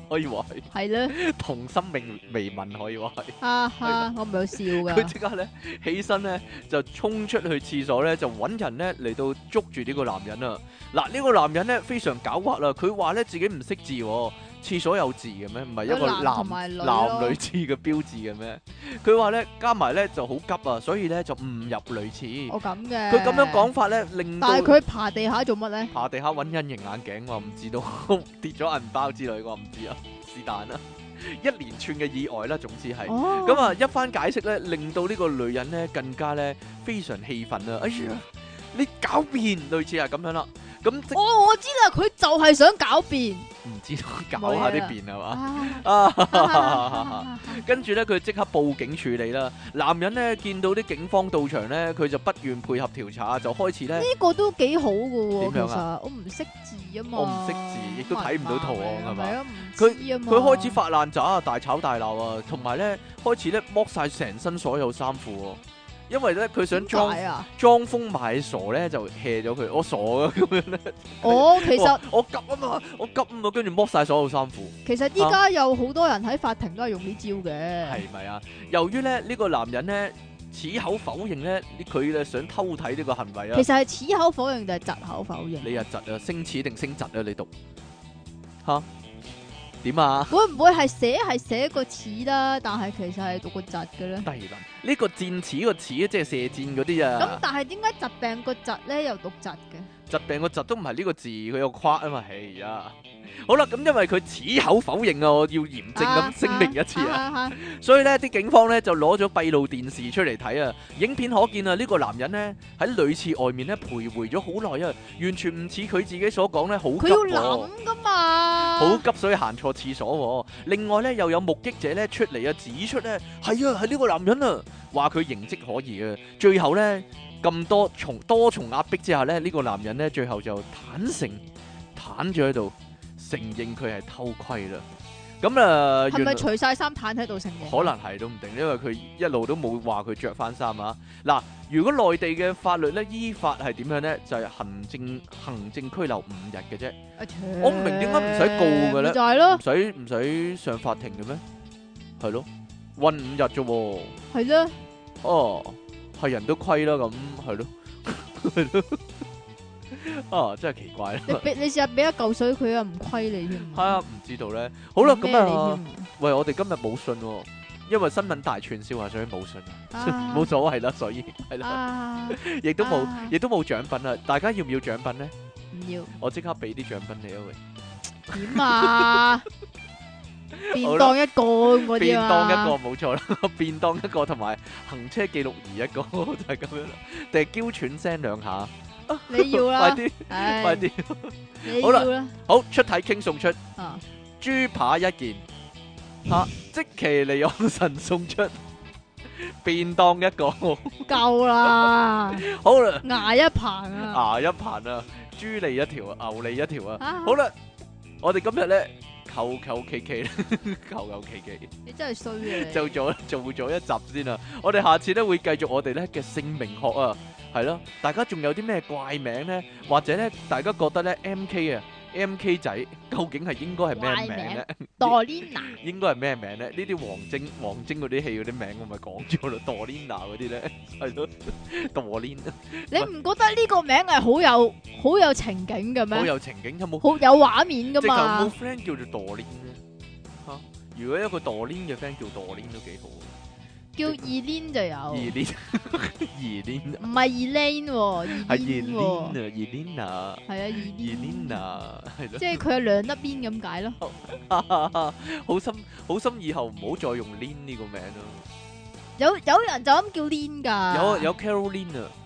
可以話係係咧， 童心未未泯，可以話係。 哈哈，我唔係有笑佢噶， 即刻咧起身咧就衝出去廁所咧就揾人咧嚟到捉住呢個男人啊！嗱，呢個男人咧非常狡猾啦，佢話咧自己唔識字喎，廁所有字嘅咩？唔係一個有男男同埋女咯男女廁嘅標誌嘅咩？佢話咧加埋咧就好急啊，所以咧就誤入女廁。 我咁嘅。 佢咁樣講法咧，令到但係佢爬地下做乜咧？ 爬地下揾隱形眼鏡，我唔知道跌咗銀包之類，我唔知啊，是但啦，一連串嘅意外啦，總之係。 哦， 咁啊，一番解釋咧，令到呢個女人咧更加咧非常氣憤啊！哎呀，你狡辯，類似係咁樣啦。咁即哦，我知啦，佢就係想狡辯。 唔知道搞下啲辯係嘛？ 啊啊！跟住咧，佢即刻報警處理啦。男人咧見到啲警方到場咧，佢就不願配合調查，就開始咧。 呢個都幾好噶喎，其點樣啊實我唔識字啊嘛， 我唔識字，亦都睇唔到圖案係嘛係啊，唔佢知啊嘛佢開始發爛渣，大吵大鬧啊，同埋咧開始咧剝晒成身所有衫褲喎，因為咧佢想裝點解啊？ 裝瘋賣傻咧就 hea 咗佢，我傻啊咁樣咧。 哦，其實我急啊嘛，我急啊嘛，跟住剝晒所有衫褲。 其實依家有好多人喺法庭都係用呢招嘅。 係咪啊？由於咧呢個男人咧矢口否認咧，佢咧想偷睇呢個行為啊其。實係矢口否認定係窒口否認？ 你啊窒啊，升矢定升窒啊？你讀吓點啊？ 會唔會係寫係寫個齒啦？但係其實係讀個窒嘅咧？ 低能呢個箭矢個矢即係射箭嗰啲咁啊。 但係點解疾病個疾咧又讀疾嘅？ 疾病個疾都唔係呢個字，佢有個框啊嘛。係啊。好啦，咁因為佢矢口否認啊，我要嚴正咁聲明一次啊。 啊所以咧，啲警方咧就攞咗閉路電視出嚟睇啊。影片可見啊，呢個男人咧喺女廁外面咧徘徊咗好耐啊，完全唔似佢自己所講咧好佢要急喎， 諗噶嘛？ 好急所以行錯廁所喎。另外咧又有目擊者咧出嚟啊，指出咧係啊係呢個男人啊，話佢形跡可疑啊。最後咧咁多重多重壓迫之下咧，呢個男人咧最後就坦誠攤咗喺度，承認佢係偷窺啦。咁啊， 係咪除晒衫攤喺度承認？ 可能係都唔定，因為佢一路都冇話佢着翻衫啊。嗱，如果內地嘅法律咧，依法係點樣咧？就係、是、行政行政拘留五日嘅啫。 啊切我唔明點解唔使告嘅咧咪就係咯唔，使唔使上法庭嘅咩？係咯，韞五日啫喎。 係咯， 哦，係人都虧啦，咁係咯，係咯。啊，真係奇怪啦。 你俾你試下俾一嚿水佢啊，唔虧你添。 係啊，唔知道咧。好啦，咁啊， 啊， 喂，我哋今日冇信喎，因為新聞大串燒啊，所以冇信啊， 啊冇所謂啦，所以係啦。 啊， 亦都冇啊， 亦都冇獎品啊！大家要唔要獎品咧？ 唔要我即刻俾啲獎品你啊！喂， 點啊？便當一個咁嗰啲便啊當一個冇錯啦，便當一個同埋行車記錄儀一個就係咁樣啦。定係嬌喘聲兩下， 你要快啦， 啲唉快啲！ 你好啦要啦， 好，出體傾送出啊， 豬扒一件，嚇積淇離岸神送出便當一個， 夠啦， 好啦， 牙一棚啊， 牙一盤啊，豬脷一條，牛脷一條啊！ 啊好啦，我哋今日咧求求其其，求求其其。 你真係衰啊你！ 就做做咗一集先啦，我哋下次咧會繼續我哋咧嘅姓名學啊，係咯，大家仲有啲咩怪名咧，或者咧大家覺得咧 M K 啊 M K 仔究竟係應該係咩名咧？ Dorina 應該係咩名咧？呢啲王晶王晶嗰啲戲嗰啲名我咪講咗咯，Dorina 嗰啲咧係咯，Dorina 你唔覺得呢個名係好有好有情景嘅咩？ 好有情景，有冇？ 好有畫面噶直頭冇嘛？ friend 叫做 Dorina 咧嚇？如果一個 Dorina 嘅 friend 叫 Dorina 都幾好。 叫 Elaine 就有， 二年二年唔係 Elaine 喎係二 ，Elaine 年喎， 啊，二年啊， 係啊二 ，Elaine 年啊，係即係佢有兩粒邊咁解咯。 咯，好心好心，以後唔好再用 Lin 呢個名咯。 有有人就咁叫 Lin 㗎， 有有 Caroline 啊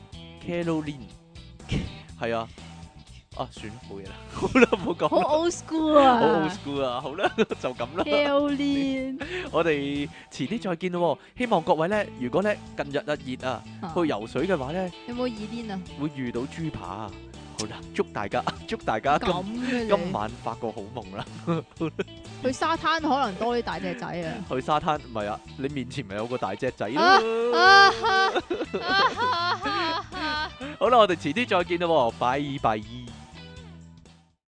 ，Caroline 係啊，啊算冇嘢啦，好啦，唔好講好啦， old school 好 old 啊 school 啊，好啦，就咁啦。 ，Caroline 我哋遲啲再見咯喎，希望各位咧，如果咧近日啊熱啊，去游水嘅話咧， 有冇 Elaine 啊？ 會遇到豬扒啊。好啦，祝大家祝大家今咁嘅今你， 晚發個好夢啦！ 去沙灘可能多啲大隻仔啊！ 去沙灘唔係啊，你面前咪有個大隻仔咯。 啊哈啊哈啊哈好啦，我哋遲啲再見啦喎，拜拜。